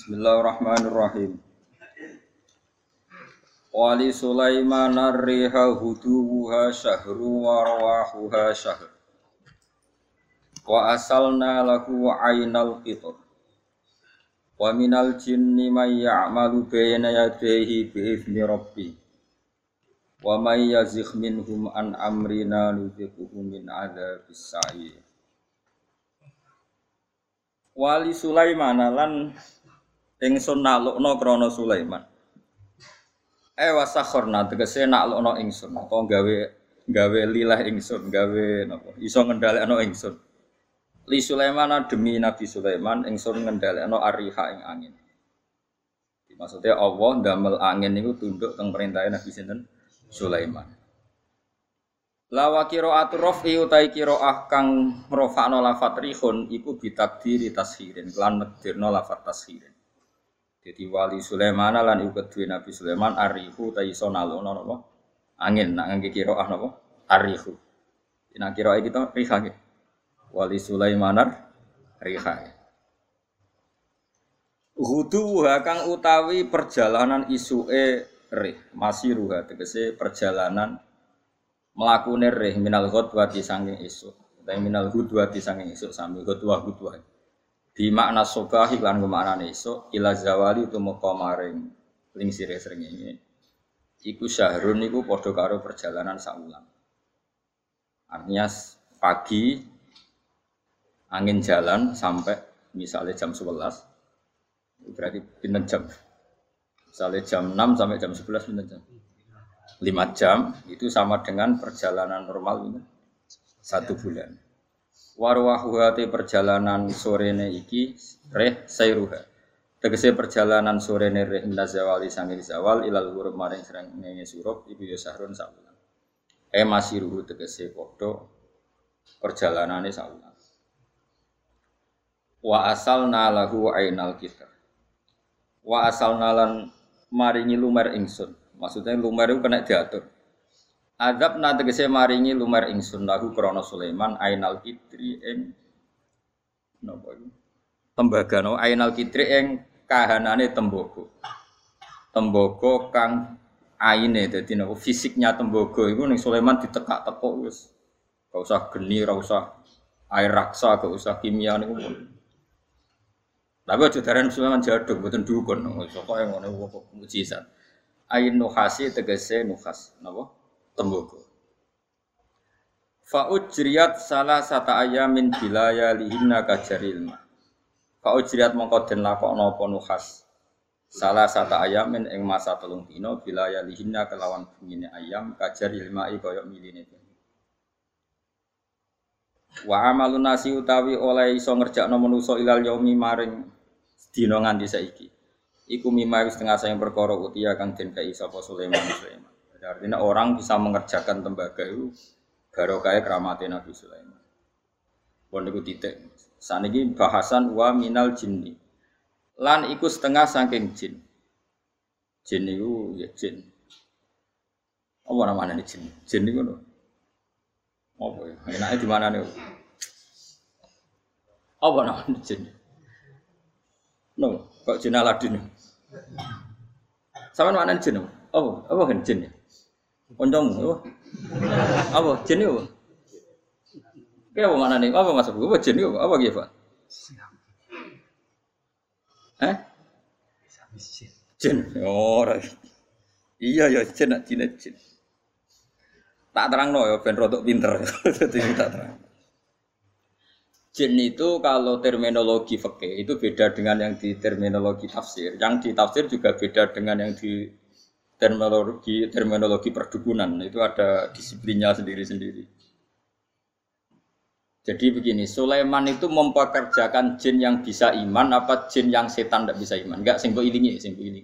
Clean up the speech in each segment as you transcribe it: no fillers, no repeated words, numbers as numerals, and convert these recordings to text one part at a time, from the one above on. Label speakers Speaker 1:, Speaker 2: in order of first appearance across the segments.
Speaker 1: Bismillahirrahmanirrahim. Wali Sulaiman ar-riha huduha syahru wa rawahuha syahr. Wa asalna lahu aynal qitar. Wa minal jinni may ya'malu bayna yadayhi bi'izni rabbi. Wa may yazigh minhum an amrina nudhiquhu min adzabis sa'ir. Wali Sulaiman lan ingsun naklukna krana Sulaiman. Wasakhorna tegese naklukna ingsun apa gawe lilah ingsun gawe napa iso ngendhalekno ingsun. Li Sulaiman demi Nabi Sulaiman ingsun ngendhalekno ariha ing angin. Maksudnya Allah ndamel angin niku tunduk teng perintahe Nabi sinten Sulaiman. Lawa qira'atu rafi utai qira'ah kang rafa'na lafat rihun iku bitakdiri tashirin lan nekdirna lafat tashirin. Jadi wali Sulaiman lan iku kedue Nabi Sulaiman arihu ta iso nalukna napa angin nak ngangge qira'ah napa arihu. Nek qira'ah kita riha nggih. Wali Sulaiman riha. Hudu kang utawi perjalanan isuke rih masih ruha tegese perjalanan mlakune rih minal ghadwati saking esuk utawa minal ghadwati saking esuk sami ghadwah di makna sobahi lan maknane esuk ila zawali tumeka maring lingsire srengenge iku syahrun niku padha karo perjalanan saulan. Artinya pagi angin jalan sampai misalnya jam 11 berarti pinten jam. Misalnya jam 6 sampai jam 11 pinten jam. 5 jam itu sama dengan perjalanan normal ini 1 bulan. Warwahuhati perjalanan sorene iki reh sayruha. Tegese perjalanan sorene reh minazawali sangir zawal ilal huruf maring srengenge surup iku ya sahrun saulan. Masiruhu tegese padha perjalanane saulan. Wa asalna lahu ainal kitab. Wa asalna lan maringi lumer ingsun. Maksudnya lumer itu kena diatur. Adab na tegese maringi lumer ingsun lahu krana Sulaiman ainal kitri ing napa iku? Tembaga no ainal kitri ing kahanane tembaga. Tembaga kang aine dadi napa fisiknya tembaga iku ning Sulaiman ditekak-tekuk wis. Gak usah geni, ora usah air raksa, gak usah kimia niku. Tapi aja darane Sulaiman jaduk mboten dukun. Pokoke ngono kok mujizat. Ain nuhasi tegese nuhas napa tembaga. Fa ujriyat salah sata ayamin bilaya lihinna kajaril ma. Fa ujriyat mongko den lakokno apa nuhas. Salah sata ayamin ing masa 3 dina bilaya lihinna kelawan bengine ayam kajaril ma kaya miline. Wa amalun nasi utawi oleh iso ngerjakno manusa ilal yaumi maring dina nganti saiki. Iku mimai setengah sayang perkara utia kang den kai sapa Sulaiman. Jadi artinya orang bisa mengerjakan tembaga itu barokah keramate Nabi Sulaiman. Pun niku titik. Saniki bahasan wa minal jinni. Lan iku setengah saking jin. Jin niku ya jin. Apa namanya jin? Jin niku lho. Apa ya? Enake di mana niku? Apa namanya jin? No, kok jin Aladin. Sampeyan maknane jin apa? Apa kan jin ya? Kancamu apa? Apa jin itu? Kayak apa maknane? Apa maksud apa jin itu? Apa ki, Pak? Jin. Oh, iya ya jin nak jin. Tak terangno ya ben rodok pinter. Dadi tak terang. Jin itu kalau terminologi fikih itu beda dengan yang di terminologi tafsir. Yang di tafsir juga beda dengan yang di terminologi perdukunan. Itu ada disiplinnya sendiri-sendiri. Jadi begini, Sulaiman itu mempekerjakan jin yang bisa iman apa jin yang setan tidak bisa iman? Enggak, sing mbok ilingi.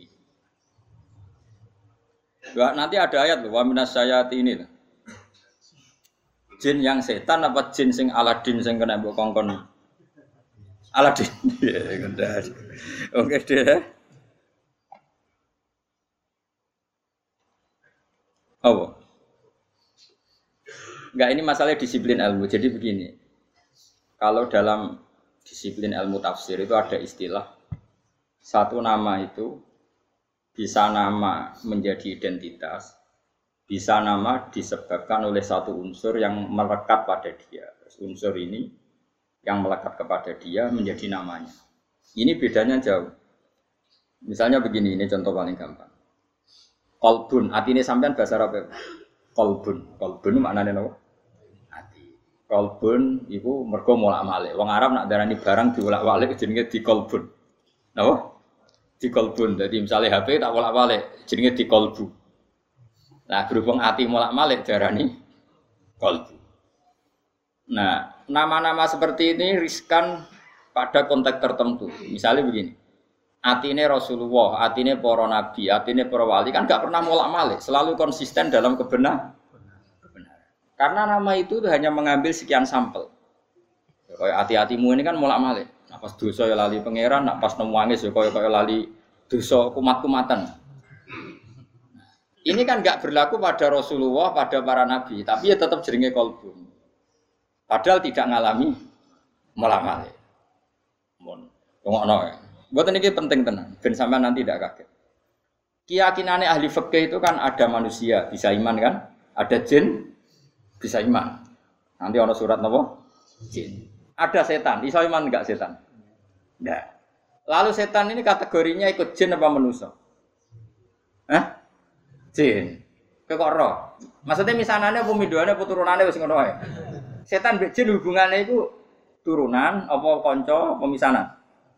Speaker 1: Nanti ada ayat loh, wa minas sayatini loh. Jin yang setan apa jin sing Aladin sing kena mbok kongkon Aladin. Ya gendar. Oke deh. Oh. Enggak, ini masalah disiplin ilmu. Jadi begini. Kalau dalam disiplin ilmu tafsir itu ada istilah Satu nama itu bisa nama menjadi identitas, bisa nama disebabkan oleh satu unsur yang melekat pada dia. Unsur ini yang melekat kepada dia menjadi namanya. Ini bedanya jauh. Misalnya begini, ini contoh paling gampang. Kolbun, hati ini sampean bahasa Arab. Kolbun, kolbun maknanya apa? Hati. Kolbun itu mergo molak-malik. Wong Arab nak darani barang diolak-walik jenenge dikolbun. Napa? Dikolbun. Jadi misalnya HP tak olak-walik jenenge dikolbu. Nah, berhubung hati molak-malik darani kolbu. Nah, nama-nama seperti ini riskan pada konteks tertentu. Misalnya begini. Atine Rasulullah, atine para nabi, atine para wali kan enggak pernah molak-malik, selalu konsisten dalam kebenaran. Karena nama itu hanya mengambil sekian sampel. Kayak hati-hatimu ini kan molak-malik. Nah, pas dosa ya lali pangeran, nak pas nemu wangis ya kaya lali dosa kumat-kumatan. Ini kan enggak berlaku pada Rasulullah, pada para nabi, tapi ya tetap jenenge kolbu. Padahal tidak ngalami molak-malik. Mun ngono ya. Buat ini penting tenan, ben sampean nanti tidak kaget. Keyakinannya ahli fikih itu kan ada manusia bisa iman kan, ada jin bisa iman. Nanti ono surat napa? Jin. Ada setan, iso iman enggak setan? Enggak. Lalu setan ini kategorinya ikut jin apa manusia? Hah? Jin. Kok roh? Maksudnya misanane apa midoane apa turunane wis ngono wae. Setan mbek jin hubungannya itu turunan apa kanca apa misanan?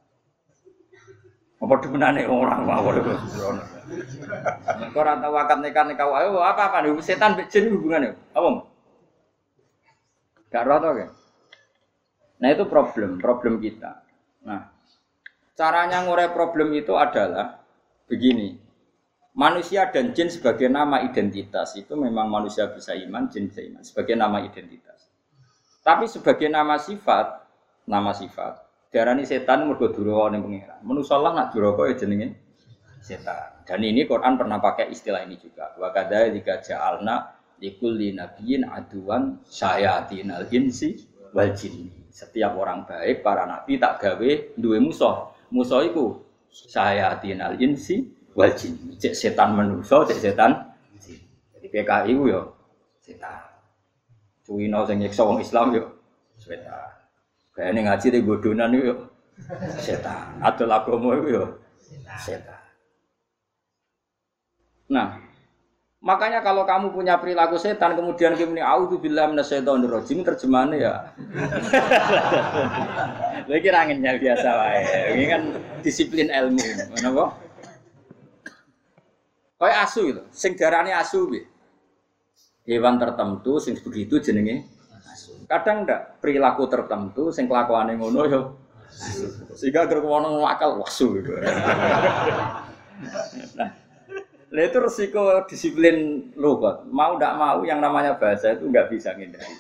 Speaker 1: Apa demenane orang mawon itu. Kok ora tau akad nikah wae apa setan mbek jin hubungannya? Apa? Gak roh to, kan? Nah, itu problem kita. Nah, caranya ngurai problem itu adalah begini. Manusia dan jin sebagai nama identitas itu memang manusia bisa iman, jin bisa iman sebagai nama identitas. Tapi sebagai nama sifat diarani setan mergo duraka ning pangeran. Manusa lah nak duraka ya jenenge setan. Dan ini Quran pernah pakai istilah ini juga. Wa kadzalika ja'alna likulli nabiyyin aduwan syayatinal insi wal jinni. Setiap orang baik para nabi tak gawe duwe musuh. Musuh iku syayatinal insi wal jinni. Cek setan manusa, cek setan jin. Jadi PKI ku yo setan. Cuwino sing nyiksa wong Islam yo setan. Kayane ngaji di bodonan itu setan. Adol agama itu ya setan. Nah, makanya kalau kamu punya perilaku setan kemudian kamu ini auzubillahi minasyaitonir rajim terjemahannya ya. Lagi ranginnya biasa wae. Ini kan disiplin ilmu, napa? Kayak asu itu, sing darane asu piye? Hewan tertentu sing begitu jenenge kadang ndak perilaku tertentu sing kelakuane ngono ya sehingga gerkono akal wasu gitu. Nah, itu resiko disiplin lughat. Mau ndak mau yang namanya bahasa itu nggak bisa ngindari.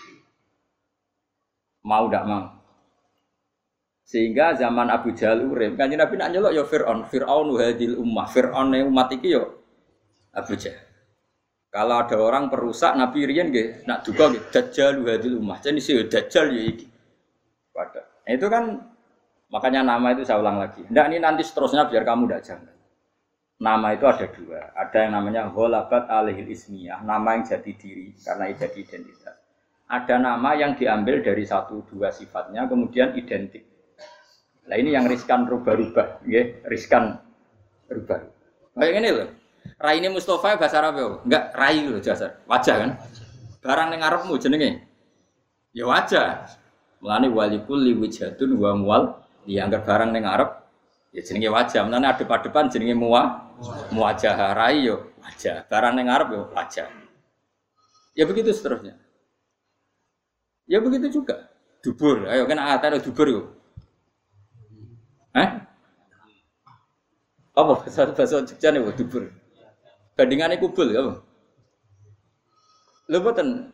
Speaker 1: Mau ndak mau. Sehingga zaman Abu Jahal urip, Kanjeng Nabi nak nyelok ya Fir'aun hadil ummah. Fir'aun umat iki ya Abu Jahal. Kalau ada orang perusak Nabi riyen nggih nak duka nggih dajjal hadil ummah. Jadi sih dajjal ya iki. Pada. Nah, itu kan makanya nama itu saya ulang lagi. Ndak ini nanti seterusnya biar kamu ndak janggal. Nama itu ada dua. Ada yang namanya ghalabat alihil ismiyah, nama yang jadi diri karena jadi identitas. Ada nama yang diambil dari satu dua sifatnya kemudian identik. Nah, ini yang riskan rubah-rubah, nggih, riskan rubah. Kayak ngene lho. Raine Mustafa bahasa Arab yo. Enggak rai lho jasar. Wajah kan? Barang ning ngarepmu jenenge. Ya wajah. Mulane walikul liwijhatun wa muwal dianggap barang ning ngarep ya jenenge wajah. Mulane adep-adepan jenenge muwajah. Rai yo wajah. Barang ning ngarep yo wajah. Ya begitu seterusnya. Ya begitu juga. Dubur. Ayo kan ada dubur yo. Apa bahasa Jogja nih dubur? Bandingannya kubul apa? Lho boten.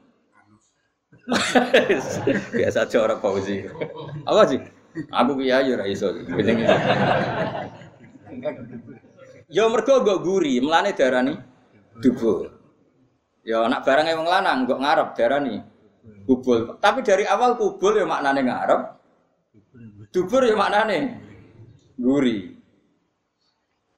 Speaker 1: Biasa aja orang Fauzi. Apa sih? Aku kiai ora iso. Ya mergo nggo guri, mlane darani dubur. Ya anak barang wong lanang nggo ngarep darani kubul. Tapi dari awal kubul ya maknane ngarep. Dubur ya maknane guri.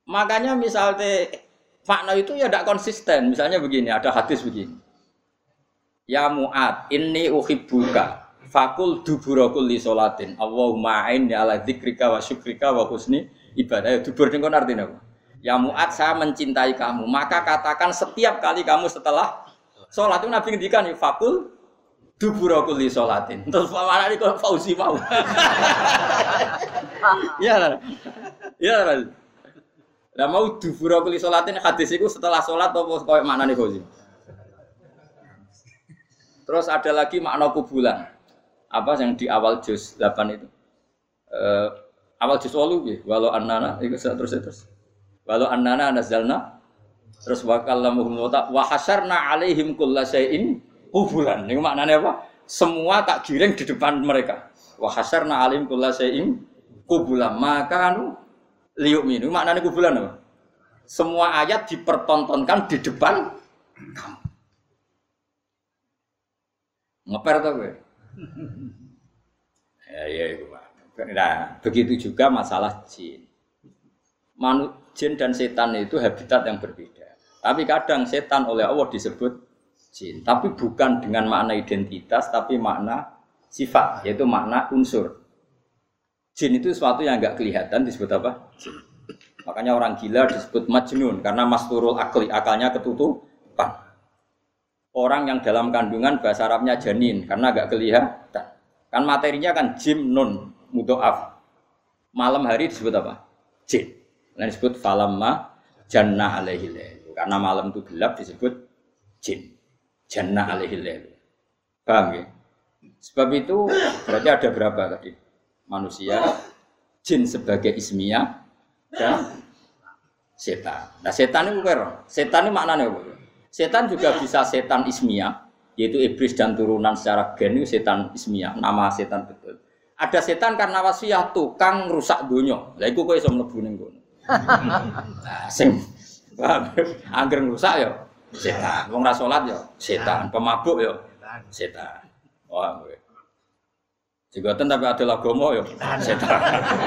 Speaker 1: Makanya misalnya makna itu ya tidak konsisten. Misalnya begini, ada hadis begini. Ya Mu'ad, inni uhibbuka fakul dubura kulli sholatin. Allahumma a'inni ala dzikrika wa syukrika wa husni ibadah. Ya dubur niku artinya apa? Ya Mu'ad, saya mencintai kamu, maka katakan setiap kali kamu setelah sholat itu Nabi ngendikan fakul dubura kulli sholatin. Terus mana ini kalau Fauzi mau? Iya. Iya. Lah mau dubura kulli sholatin hadis itu setelah sholat apa koyo maknane Fauzi? Terus ada lagi makna kubulan. Apa yang di awal juz 8 itu? Awal juz 8 ya, walau annana itu terus. Walau annana nazalna terus wa kallamuhum wa hasyarna alaihim kullasyai'in kubulan. Ini maknanya apa? Semua tak giring di depan mereka. Wa hasyarna alaihim kullasyai'in kubulan. Maka liyu'minu. Maknanya kubulan apa? Semua ayat dipertontonkan di depan kamu. Ngeper tau gue? Ya itu Pak. Nah, begitu juga masalah jin. Jin dan setan itu habitat yang berbeda. Tapi kadang setan oleh Allah disebut jin. Tapi bukan dengan makna identitas, tapi makna sifat, yaitu makna unsur. Jin itu sesuatu yang enggak kelihatan disebut apa? Jin. Makanya orang gila disebut majnun karena masturul akli, akalnya ketutupan. Orang yang dalam kandungan bahasa Arabnya janin karena agak kelihatan. Kan materinya kan jim nun mudhoaf. Malam hari disebut apa? Jin. Nah disebut falamma janna alaihi lail. Karena malam itu gelap disebut jin. Janna alaihi lail. Paham ya? Sebab itu berarti ada berapa tadi? Manusia, jin sebagai ismiyah dan setan. Nah setan itu apa? Setan itu maknanya apa? Setan juga bisa setan ismiyah, yaitu iblis dan turunan secara gen itu setan ismiyah, nama setan betul. Ada setan karena wasiah tukang rusak dunia. Lah iku kowe iso mlebu ning kono. Nah, sing angger rusak ya setan. Wong ra salat ya setan, pemabuk ya setan. Wah kowe. Jigoten tapi ada agama ya setan.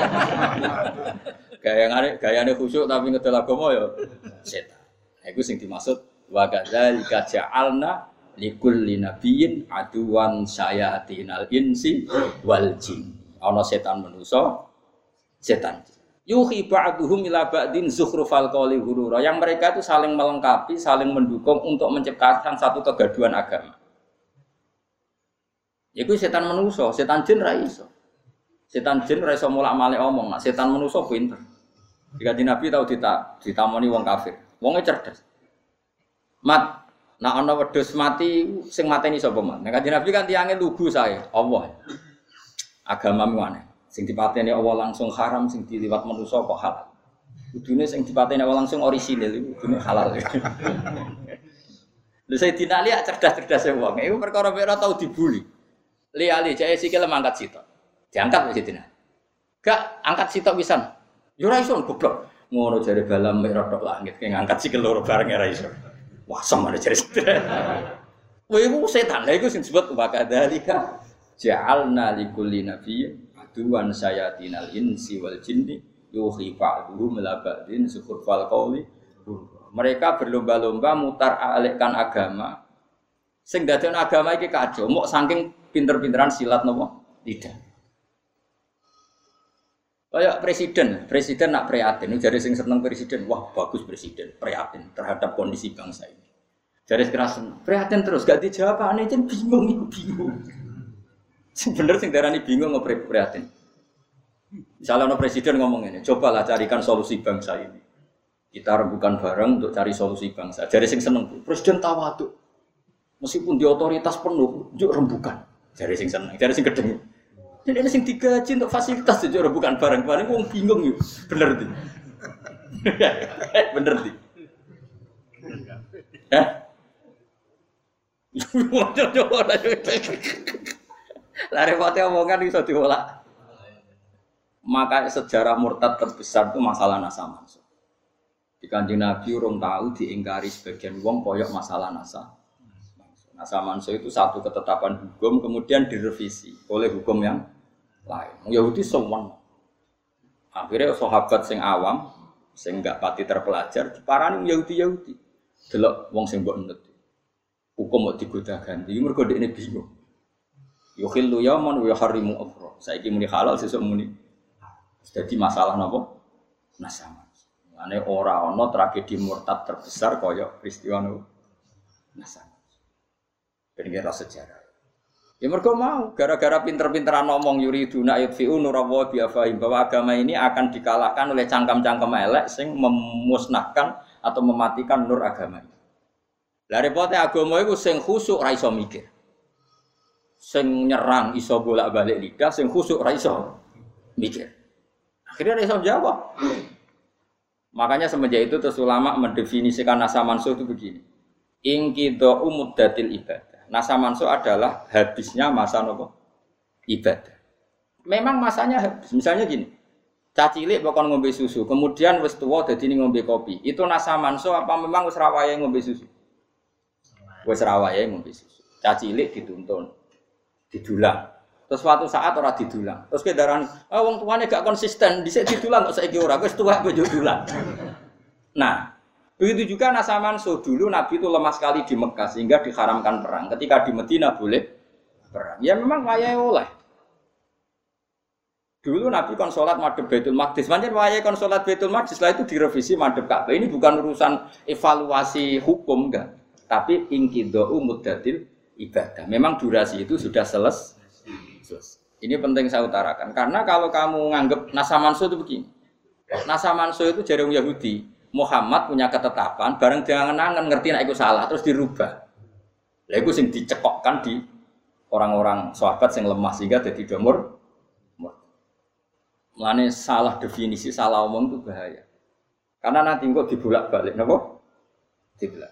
Speaker 1: Gayane khusyuk tapi ngedol agama ya setan. Nah, iku sing dimaksud wa kadzalika ja'alna likulli nabiyyin aduwan syayatinal insi wal jin. Ana setan manusa, setan. Yuhi ba'duhum ila ba'din zukhrufal qawli ghurura. Yang mereka itu saling melengkapi, saling mendukung untuk menciptakan satu kegaduhan agama. Iku setan manusa, setan jin ra iso. Setan jin ra iso mulak-malik omong, nah, setan manusa pinter. Jika Nabi tahu ditamoni wong kafir. Wonge cerdas. Mat, nak ana wedhus mati sing mateni sapa man? Nek Kanjeng Nabi kan tiange lugu sae, Allah. Agamamu aneh. Sing dipateni Allah langsung haram, sing diliwat manusa kok halal. Kudune sing dipateni Allah langsung orisinil iku kudune halal. Lha Sayyidina Ali cerdas-cerdas wong. Iku perkara ora tau dibuli. Li jae sikil mangkat sitok. Diangkat Sayyidina. Gak angkat sitok pisan. Yo ora iso goblok. Ngono jare balam mek rodok langit ki ngangkat sikil loro bareng ora iso. Wah, sama ada cerita. Wah, itu setan. Lah itu disebut wa kadzalika ja'alna likulli nabiyyin aduwan syayatinal insi wal jinni yuhi ba'dhum ila ba'din zukhrufal qawli. Mereka berlomba-lomba mutar alikkan agama. Sing dadekno agama iki kacau, mok saking pinter-pinteran silat napa? Tidak. Kayak presiden nak prihatin, jadi sing seneng presiden, wah bagus presiden, prihatin terhadap kondisi bangsa ini. Jadi sekarang prihatin terus, gak dijawab, aneh jen bingung. Sing bener sing darani bingung prihatin. Misalnya ono presiden ngomong ini, cobalah carikan solusi bangsa ini. Kita rembukan bareng untuk cari solusi bangsa. Jadi sing seneng, presiden tawaduk, meskipun di otoritas penuh, juk rembukan. Jadi sing seneng, jadi sing gedeng. Jadi ini sing digaji untuk fasilitas itu bukan barang-barang, wong bingung yuk, bener di, bener di, lari repotnya omongan bisa diolak. Maka sejarah murtad terbesar itu masalah nasa mansuh. Di Kanjeng Nabi urung tahu diingkari sebagian wong koyok masalah nasa. Nasa mansuh itu satu ketetapan hukum kemudian direvisi oleh hukum yang lain. Yahudi semua. Akhirnya sahabat sing awam sing gak pati terpelajar diparani Yahudi. Delok wong sing mbok nut. Hukum kok digoda ganti, mergo dekne bingung. Yukhillu yawman wa yuharrimu ukhra. Saiki muni halal sesuk muni. Jadi masalah napa? Nasama. Ane ora ana tragedi murtad terbesar kaya peristiwa Nasama. Ben kira sejarah. Ya mergo mau gara-gara pinter-pinteran ngomong yuriduna yutfi'u nurallahi bi afahim bahwa agama ini akan dikalahkan oleh cangkem-cangkem elek sing memusnahkan atau mematikan nur agama ini. Lah repote agama iku sing khusuk ra iso mikir. Sing nyerang iso bolak-balik lidah, sing khusuk ra iso mikir. Akhirnya ra iso jawab. Makanya semenjak itu terus ulama mendefinisikan nasa mansuh itu begini. Inqidha muddatil ibadah. Nasa mansuh adalah habisnya masa nopo ibadah. Memang masanya habis. Misalnya gini. Cacilik pokon ngombe susu, kemudian wis tuwa dadi ngombe kopi. Itu nasa mansuh apa memang wis ra wayahe ngombe susu? Wis ra wayahe ngombe susu. Cacilik dituntun, didulang. Terus suatu saat ora didulang. Terus kedaran, wong tuane gak konsisten, dhisik didulang kok saiki ora, wis tuwa kok didulang. Nah, begitu juga nasa mansuh. Dulu Nabi itu lemah sekali di Mekah sehingga diharamkan perang. Ketika di Madinah boleh perang. Ya memang wayahe oleh. Dulu Nabi kon salat madhep Baitul Maqdis. Pancen wayahe kon salat Baitul Maqdis, setelah itu direvisi madhep Ka'bah. Ini bukan urusan evaluasi hukum enggak, tapi inqidha'u muddatil ibadah. Memang durasi itu sudah selesai. Ini penting saya utarakan karena kalau kamu nganggap nasa mansuh itu begini. Nasa mansuh itu jare Yahudi. Muhammad punya ketetapan, bareng dia ngenangan ngerti nek iku salah terus dirubah. Lha iku sing dicekokkan di orang-orang sahabat sing lemah sehingga dadi domur. Mulane salah definisi, salah omong itu bahaya. Karena nanti kok dibolak-balik napa? Dibolak.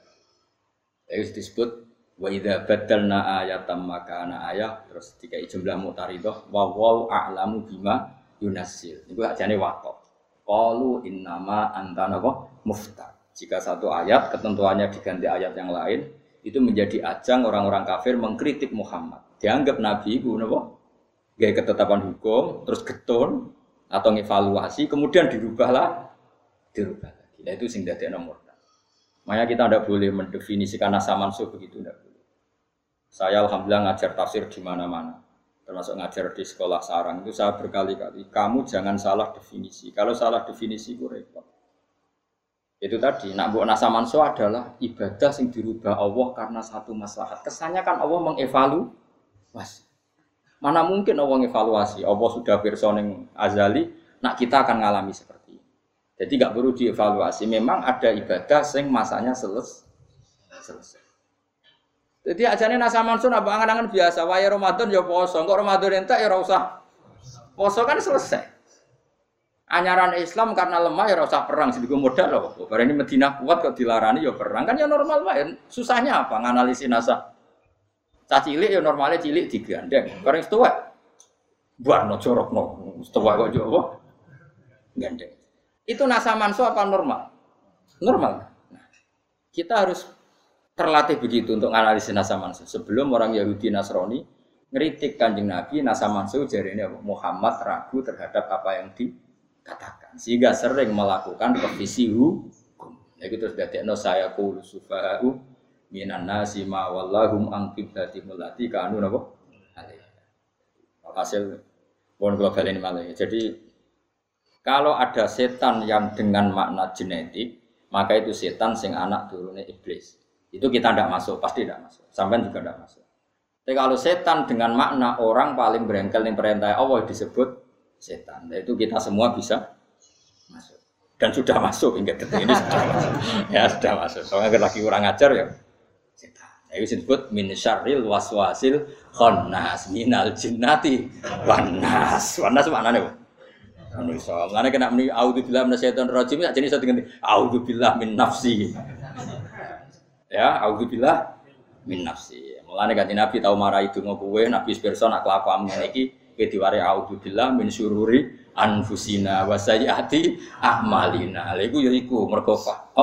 Speaker 1: Itu disebut wa idza badalna ayatan makana ayat terus dikai jumlah mutaridah wa wal a'lamu bima yunassil. Niku ajane waqaf. Qalu innama anta napa muftar. Jika satu ayat ketentuannya diganti ayat yang lain, itu menjadi ajang orang-orang kafir mengkritik Muhammad. Dianggap nabi iku napa? Gawe ketetapan hukum, terus getun atau ngevaluasi, kemudian dirubah lagi. Nah itu sing dadekno murtad. Makanya kita tidak boleh mendefinisikan nasa mansuh begitu, tidak boleh. Saya alhamdulillah ngajar tafsir di mana-mana. Termasuk ngajar di sekolah sarang itu saya berkali-kali, kamu jangan salah definisi. Kalau salah definisi itu repot. Itu tadi, nak buat nasa mansuh adalah ibadah yang dirubah Allah karena satu maslahat. Kesannya kan Allah mengevaluasi. Mana mungkin Allah mengevaluasi? Allah sudah personing azali, nak kita akan ngalami seperti ini. Jadi nggak perlu dievaluasi. Memang ada ibadah yang masanya selesai. Jadi ajane nasa mansuh apa angan-angan biasa. Waya Ramadan ya poso, kok Ramadan entek ya ora usah poso kan selesai. Anyaran Islam karena lemah ya ora usah perang, sing digo modal lho. Bareng ini Madinah kuat kok dilarani ya perang kan ya normal wae. Susahnya apa nganalisis nasa? Cah cilik ya normalnya cilik digandeng. Bareng setuwek buarno jorokno. Setuwek kok yo apa? Gandeng. Itu nasa mansuh apa normal? Normal. Nah, kita harus terlatih begitu untuk analisis nasa mansuh. Sebelum orang Yahudi Nasrani ngeritik Kanjeng Nabi, nasa mansuh jarene Muhammad ragu terhadap apa yang dikatakan. Sehingga sering melakukan revisi hukum. Ya gitu sudah tekno saya qul sufa'u minan nasi ma wallahum an qiblatihim allati kanu napa alaiha. Hasil pon global ini malah. Jadi kalau ada setan yang dengan makna genetik, maka itu setan sing anak turune iblis. Itu kita tidak masuk, pasti tidak masuk. Sampai juga tidak masuk. Tapi kalau setan dengan makna orang paling berengkel yang perintah Allah disebut setan. Itu kita semua bisa masuk. Dan sudah masuk hingga detik ini sudah masuk. Ya sudah masuk. Soalnya lagi kurang ajar ya. Setan. Itu disebut min syarril waswasil khannas minal jinnati wan nas. Wan nas maknane apa? Manusia. Ngene kena muni auzubillahi minasyaitonir rajim sak jenis diganti auzubillahi min nafsi. Ya, auzubillah min nafsi. Mulane kanjeng Nabi tau marahi donga kowe, Nabi pirsa nak kelakuanmu iki kowe diwari auzubillah min syururi anfusina wa sayyiati a'malina. Lha iku ya iku mergo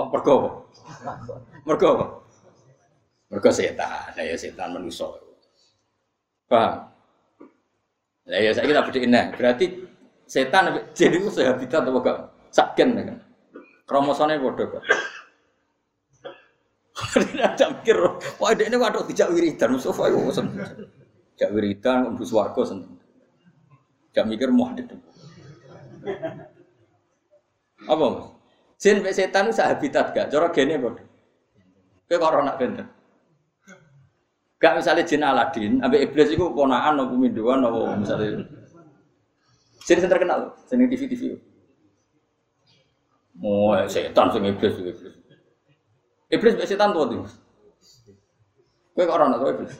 Speaker 1: mergo setan. Lah ya setan manusa. Paham? Lah ya saiki tak bedhekne. Berarti setan jadi itu sehabitat apa gak? Saken kan. Kromosomnya bodoh kok. Ada mikir, wah ini waduh tidak wiridan, Mustafa itu seneng. Tidak wiridan, untuk swarga seneng. Tidak mikir mau ada. Apa mas? Jin sampai setan itu sehabitat gak? Cara gene bodoh. Kayak corona benten. Gak misalnya jin Aladin, sampai iblis itu ponaan, atau peminduan, atau misalnya. Jin yang terkenal, seni TV. Oh, setan sing iblis. Iblis mbek setan tuh tuh. Kowe kok ora ono iblis?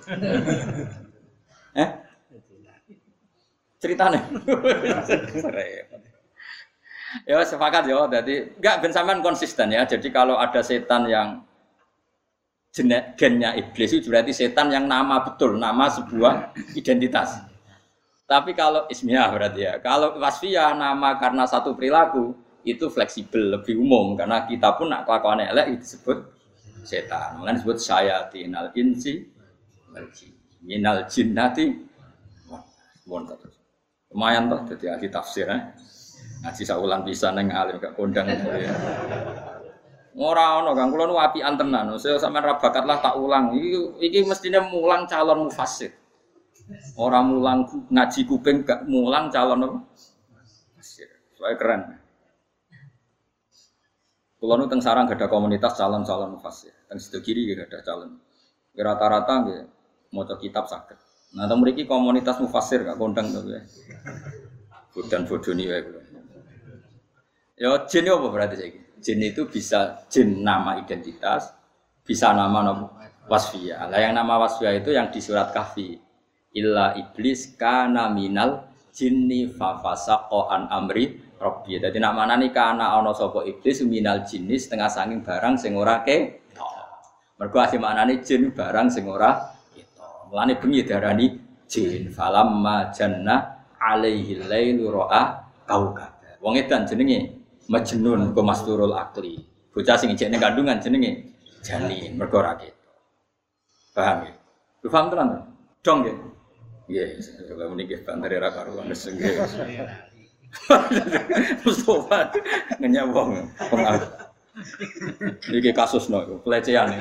Speaker 1: Ceritane. Ya sepakat ya, jadi enggak ben sampean konsisten ya. Jadi kalau ada setan yang gennya iblis itu berarti setan yang nama betul, nama sebuah identitas. Tapi kalau ismiyah berarti ya. Kalau wasfiyah nama karena satu perilaku itu fleksibel, lebih umum karena kita pun nak kelakuan elek disebut setan. Mulane disebut syayatinal insi wal jin. Minal jinnati wonten terus. Lumayan toh dadi ahli tafsir ngaji saulan pisan ning alim gak kondang. Ora ono Kang, kula nu apian tenan. Saya sampean ra bakat lah tak ulang. Iki mestine mulang calon mufassir. Ora mulang ngaji kuping gak mulang calon apa? Mufassir. Soale keren. Kulo nu teng sarang gada komunitas calon-calon mufassir. Teng sedo kiri gak ada calon. Rata-rata nggih maca kitab saged. Nah, teng mriki komunitas mufassir gak kondang to ya. Bodan bodoni wae kulo. Ya jin apa berarti saiki? Jin itu bisa jin nama identitas, bisa nama wasfiyah. Lah yang nama wasfiyah itu yang di surat Kahfi. Illa iblis kana minal jinni fa fasaqa an amri rabbi. Dadi nak manani kana ana sapa iblis minal jinni setengah sanging barang sing ora ketok. Mergo asih maknane jin barang sing ora ketok. Mulane bengi diarani jin falamma janna alaihi lailu ra'a kaukab. Wong edan jenenge Majnun ku masturul akli. Bocah sing ijek ning kandungan jenenge jani mergo ra ketok. Paham ya? Lu paham tenan? Dong nggih. Nggih, kula meniki bandare ra karuan nggih. Mustafa ngenyawong pengaruh. Iki kasusno pelecehan.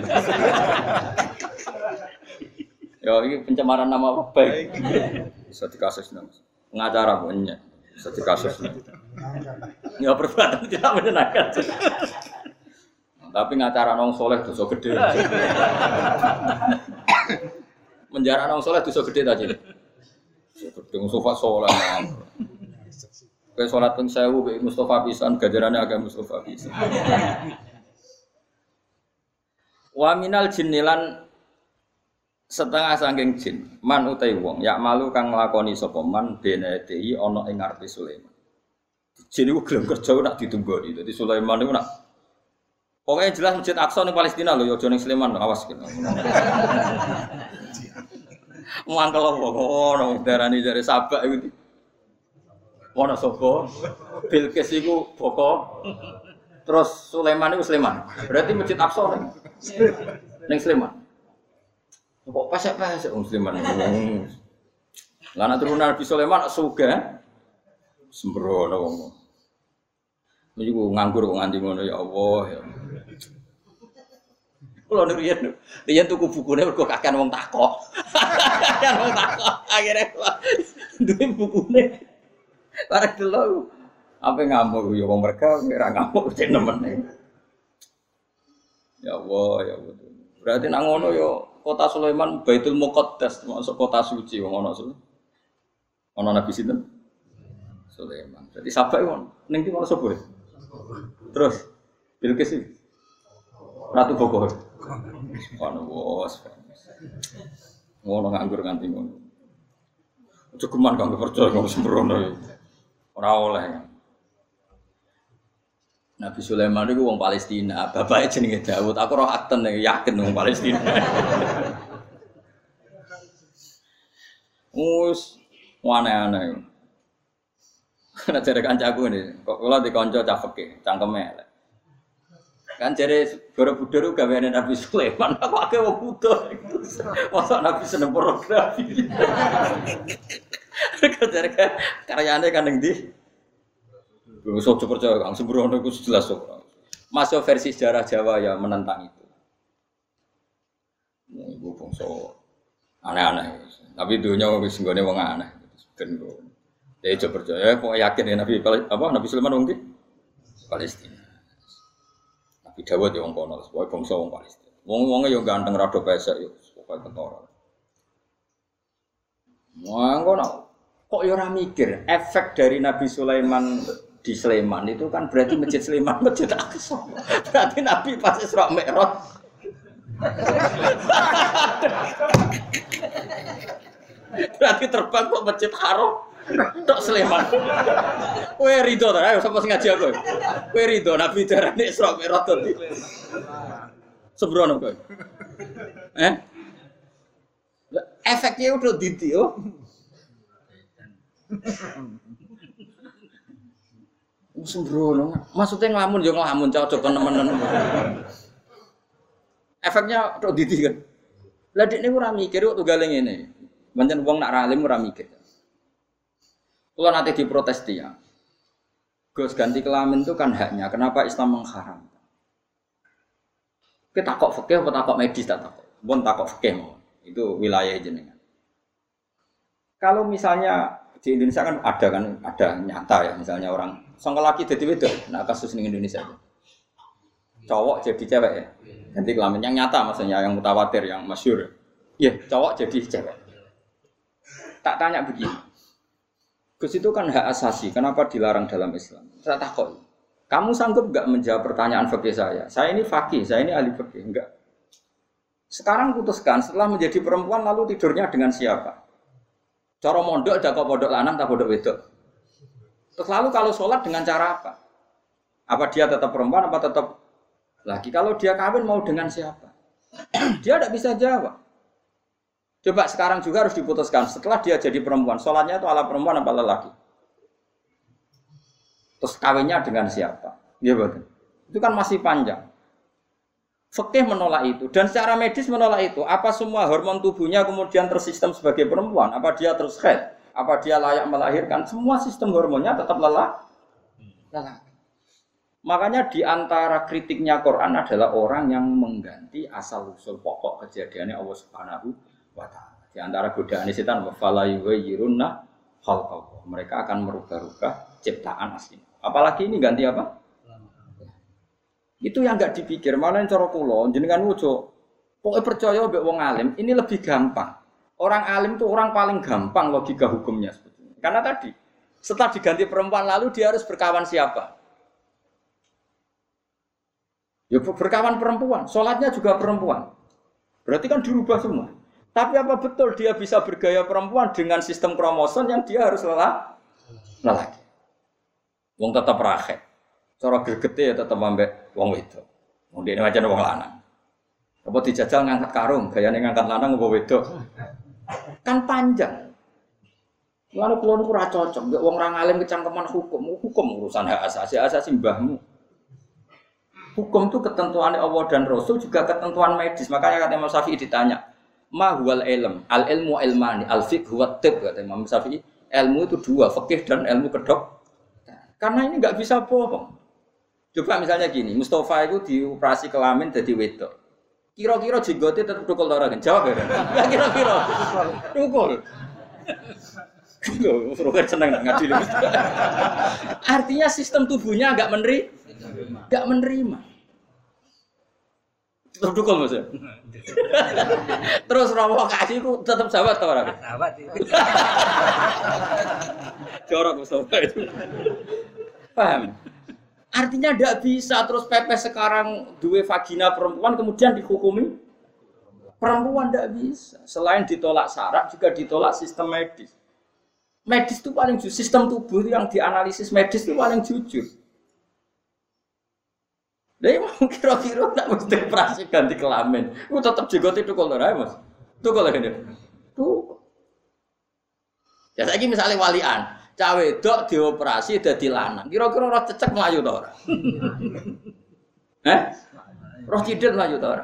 Speaker 1: Ya iki pencemaran nama baik. Bisa dikasusno. Pengacara punya bisa dikasusno. Ya perbuatan tidak menyenangkan. Tapi ngacara nong soleh dosa gede. Menjara nong soleh dosa gede tadi. Gede Mustafa soleh. Kayak sholat pun sewu, Mustafa pisan, gajarannya agak Mustafa pisan. Wa minal jinnilan setengah saking jin, man utai wong, yak malu kang nglakoni sapa man benedei ana ing ngarepe Sulaiman. Jin iku gelem kerja nak ditunggoni. Dadi Sulaiman niku nak pokoknya jelas Masjid Aqsa ning Palestina lho, ya aja ning Sleman, awas kene. Mangkel ngono darani jare sabak iku. Ono sapa? Bilqis iku boko. Terus Sulaiman iku Sleman. Berarti Masjid Aqsa ning Sleman. Kok pesek-pesek wong Sleman. Lah nek turunan Nabi Sulaiman sugih sembrono wong. Niku nganggur kok nganti ngono ya Allah ya. Kulo riyen tuku bukune mergo kakean wong takok. Kakean wong takok. Akhire duwe bukune. Barang delok apa ngamuk ya wong mereka ora ngamuk cek nemen. Ya Allah ya Allah. Berarti nang ngono ya kota Sulaiman Baitul Muqaddas masuk kota suci wong ana su. Ana nabi sinten? Sulaiman. Jadi sampai wong ning ndi ono sapa? Terus Bilqis iki Ratu Bogor. Ono bos. Ngono nganggur nganti ngono. Cukuman kang percaya kang sembrono. Ora oleh. Nabi Sulaiman itu wong Palestina, bapaknya jenenge Daud. Aku roh akten yakin wong Palestina. Wes aneh-aneh. Nek jare kancaku ini, kok kula dikonco cah fikih, cangkeme elek. Kan jare Borobudur gaweane Nabi Sulaiman, aku akeh wong butuh. Masa Nabi seneng pornografi. Jare karyane kan ning ndi? Wis aja percaya Kang sembrono iku jelas kok. Masuk versi sejarah Jawa ya menentang itu. Ibu bangsa aneh-aneh. Tapi dunia wis nggone wong aneh. Ben kok. Ya coba percaya kok yakin ya Nabi Nabi Sulaiman wong Palestina. Nabi Dawud ya wong kono, pokoke bangsa wong Palestina. Wong-wonge yo ganteng rada pesek yo, pokoke ketara. Ngono kok yo ora mikir efek dari Nabi Sulaiman di Sleman itu kan berarti Masjid Sleman Masjid Aqsa. Berarti Nabi pas Isra Mi'raj berarti terbang kok Masjid Haram tok Sleman. Kowe rido ta? Ayo sapa sing ngaji aku. Kowe rido Nabi darane Isra Mi'raj dadi. Sembrono kowe. Efeknya udah didi yo. Sembrono. Maksudnya ngelamun yo ngelamun cocok temen-temen. Efeknya udah didi kan. Lah dekne ora mikir kok tunggale ngene. Pancen wong nak ralim ora mikir. Kalau nanti diprotes dia, Gus ganti kelamin itu kan haknya. Kenapa Islam mengharamkan? Kita takok fikih atau takok medis tak takok. Bon takok fikih mau. Itu wilayah jenengan. Kalau misalnya di Indonesia kan ada nyata ya, misalnya orang sangka laki jadi wedok. Nah kasus di Indonesia itu. Cowok jadi cewek ya. Ganti kelamin yang nyata maksudnya yang mutawatir, yang masyhur. Iya, cowok jadi cewek. Tak tanya begini. Gus itu kan hak asasi, kenapa dilarang dalam Islam? Saya takut. Kamu sanggup enggak menjawab pertanyaan fikih saya? Saya ini faqih, saya ini ahli fikih, enggak. Sekarang putuskan setelah menjadi perempuan lalu tidurnya dengan siapa? Cara mondok ada kok pondok lanang tak pondok wedok. Terus lalu kalau sholat dengan cara apa? Apa dia tetap perempuan apa tetap laki? Kalau dia kawin mau dengan siapa? Dia tidak bisa jawab. Coba sekarang juga harus diputuskan setelah dia jadi perempuan, sholatnya itu ala perempuan apa lelaki? Terus kawinnya dengan siapa? Ya betul. Itu kan masih panjang. Fikih menolak itu dan secara medis menolak itu. Apa semua hormon tubuhnya kemudian tersistem sebagai perempuan? Apa dia terus haid? Apa dia layak melahirkan? Semua sistem hormonnya tetap lelaki. Makanya di antara kritiknya Quran adalah orang yang mengganti asal usul pokok kejadiannya Allah Subhanahu wa ta'ala. Di antara godaan setan wafala yughayyirunna khalqallah. Mereka akan merubah-rubah ciptaan asli. Apalagi ini ganti apa? Itu yang enggak dipikir. Mana yang cara kula jenengan wujo. Pokoke percaya mbek wong alim, ini lebih gampang. Orang alim itu orang paling gampang logika hukumnya sebetulnya. Karena tadi setelah diganti perempuan lalu dia harus berkawan siapa? Ya berkawan perempuan, sholatnya juga perempuan. Berarti kan dirubah semua. Tapi apa betul dia bisa bergaya perempuan dengan sistem kromosom yang dia harus lelaki? Wong tetap rakyat. Cara gregete ya tetap ambek wong wedok. Wong dene macam wong lanang. Apa dijajal ngangkat karung, gayane ngangkat lanang apa wedok? Kan panjang. Lalu kula niku ora cocok, mbek wong ra ngalim kecangkeman hukum urusan hak asasi mbahmu. Hukum itu ketentuannya Allah dan Rasul juga ketentuan medis. Makanya kata Imam Syafi'i ditanya, ma huwal ilm, al ilmu ilmani, al fiqh huwa tib, kata Imam Syafi'i. Ilmu itu dua, fikih dan ilmu kedok. Karena ini nggak bisa bohong. Coba misalnya gini, Mustafa itu dioperasi kelamin jadi wedok. Kira-kira jenggote tetap tukul ora kan? Jawab ya. Enggak kira-kira. Tukul. Loh, Roger seneng nak ngadili. Artinya sistem tubuhnya enggak menerima. Tetap tukul Mas ya. Terus rawa kasih itu tetap sahabat atau ora? Sahabat itu. Jorok Mustafa itu. Paham? Artinya tidak bisa terus pepes sekarang dua vagina perempuan kemudian dihukumi perempuan tidak bisa. Selain ditolak syarat juga ditolak sistem medis. Medis itu paling jujur, sistem tubuh yang dianalisis medis itu paling jujur. Jadi mau kira-kira tidak mesti operasi ganti kelamin. Itu tetap jenggot itu kalau Mas. Itu kalau ini. Tuh. Ya saya misalnya walian. Cawe dok dioperasi dadi lanang. Kira-kira roh cecek mlayu ta ora? Roh cidhet mlayu ta ora?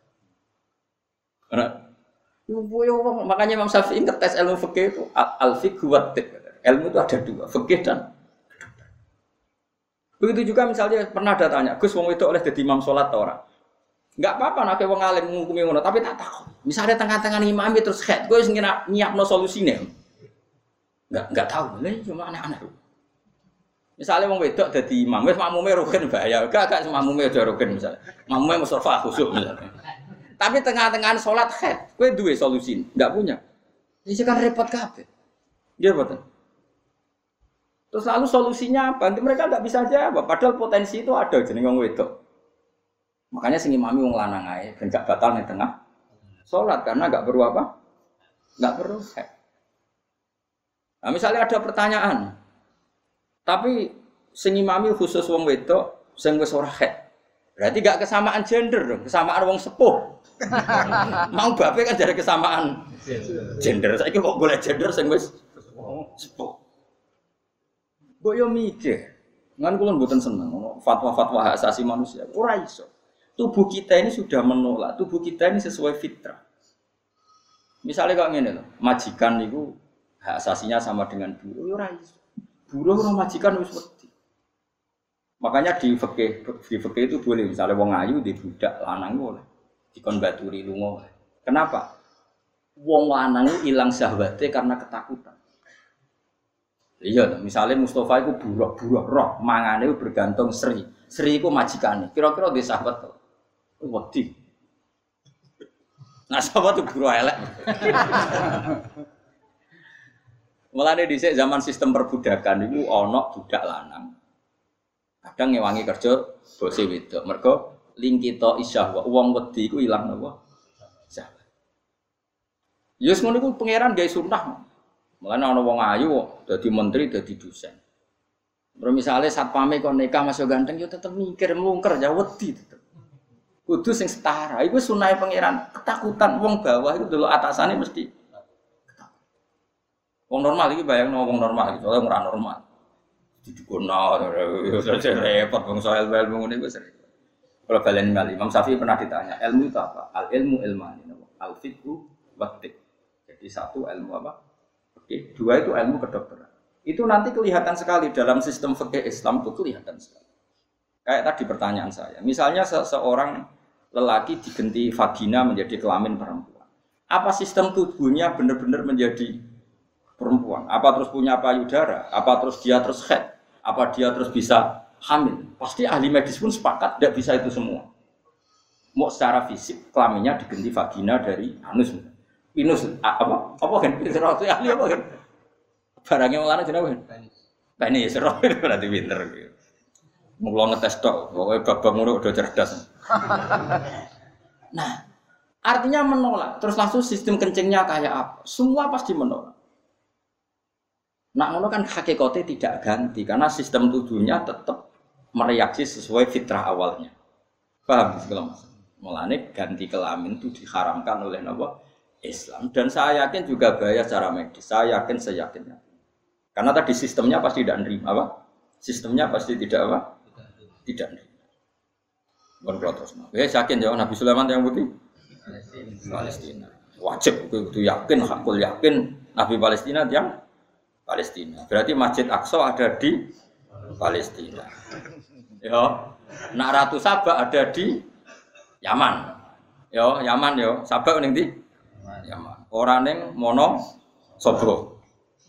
Speaker 1: Ora. Makanya Imam Syafi'i ngetes ilmu fikih itu al-fiqh wa tib. Ilmu itu ada dua, fikih dan Begitu juga misalnya pernah ada tanya, Gus wong wedok oleh dadi imam salat ta ora? Enggak apa-apa nek wong alim ngukumi ngono, tapi tak takon. Misalnya tengah-tengah imam terus head, kowe sing nyiapno solusine. Enggak tahu, lha cuma aneh-aneh. Misalnya wong wedok dadi imam, wis makmume rukun bahaya. Enggak makmume aja rukun misalnya. Makmume mustafa khusyuk misalnya. Tapi tengah-tengah salat head, kowe duwe solusi? Enggak punya. Ini kan repot kabeh. Nggih mboten. Terus lalu solusinya apa? Nanti mereka nggak bisa jawab. Padahal potensi itu ada jeneng wong wedok. Makanya sing imami wong lanang ae ben gak batal ning tengah salat karena nggak perlu apa? Nggak perlu head. Nah, misalnya ada pertanyaan. Tapi sing imami khusus wong wedok sing wis ora head. Berarti gak kesamaan gender dong, kesamaan wong sepuh. Mau bape kan jadi kesamaan gender. Saiki kok golek gender sing wis sepuh. Mbok yo mikir, ngan kula mboten seneng fatwa-fatwa hak asasi manusia. Ora iso. Tubuh kita ini sudah menolak, tubuh kita ini sesuai fitrah. Misalnya kok ngene lho, majikan niku hak asasinya sama dengan buruh, yo ora iso. Buruh ora majikan wis wedi. Makanya di fikih itu boleh misalnya wong ayu di budak lanang boleh dikon baturi lunga. Kenapa? Wong lanang ilang syahwate karena ketakutan. Iya, misalnya Mustafa itu buruh roh, mangane bergantung Sri. Sri itu majikane. Kira-kira di sahabat tuh, wedi. Nah sahabat itu buruh elek. Mulane dhisik zaman sistem perbudakan itu ana budak lanang. Kadang ngewangi kerja bose wedok. Mergo lingkito isyahwa wong wedi iku ilang napa? Syahwat. Yus ngono iku pangeran gawe sunah. Mulane ana wong ayu dadi menteri, dadi dosen. Terus misale satpame kok nikah masuk ganteng yo tetep mikir mlungker ya wedi tetep. Kudu sing setara. Iku sunahe pangeran. Ketakutan wong bawah iku delok atasane mesti ketakutan. Wong normal iki bayangno wong normal iki, soalnya ora normal. Didikono yo repot wong soal ilmu ngene wis repot. Kalau balen Imam Syafi'i pernah ditanya, ilmu itu apa? Al ilmu ilmani, al fiqhu wa fiqh. Jadi satu ilmu apa? Oke, dua itu ilmu kedokteran. Itu nanti kelihatan sekali dalam sistem fikih Islam itu kelihatan sekali. Kayak tadi pertanyaan saya, misalnya seorang lelaki digenti vagina menjadi kelamin perempuan. Apa sistem tubuhnya benar-benar menjadi perempuan? Apa terus punya payudara? Apa terus dia terus head? Apa dia terus bisa hamil? Pasti ahli medis pun sepakat tidak bisa itu semua. Mau secara fisik kelaminnya digenti vagina dari anus. Pinus apa kan? Serot ahli apa kan? Barangnya malah jenenge kan? Penis serot berarti pinter gitu. Mula ngetes tok, pokoke babak ngono udah cerdas. Nah, artinya menolak. Terus langsung sistem kencingnya kayak apa? Semua pasti menolak. Nak ngono kan hakikate tidak ganti karena sistem tubuhnya tetap mereaksi sesuai fitrah awalnya. Paham segala macam. Mulane ganti kelamin itu diharamkan oleh napa? Islam. Dan saya yakin juga bahaya secara medis. Saya yakinnya. Karena tadi sistemnya pasti tidak nerima apa? Sistemnya pasti tidak apa? Tidak nerima. Bukan terus. Saya yakin ya Nabi Sulaiman yang putih Palestina. Wajib itu yakin, hakul yakin Nabi Palestina yang Palestina. Berarti Masjid Aqsa ada di Palestina. Ya. Nak Ratu Sabah ada di Yaman. Yo, Yaman yo. Sabah ning ndi? Yaman. Ora ning Mono Sobro.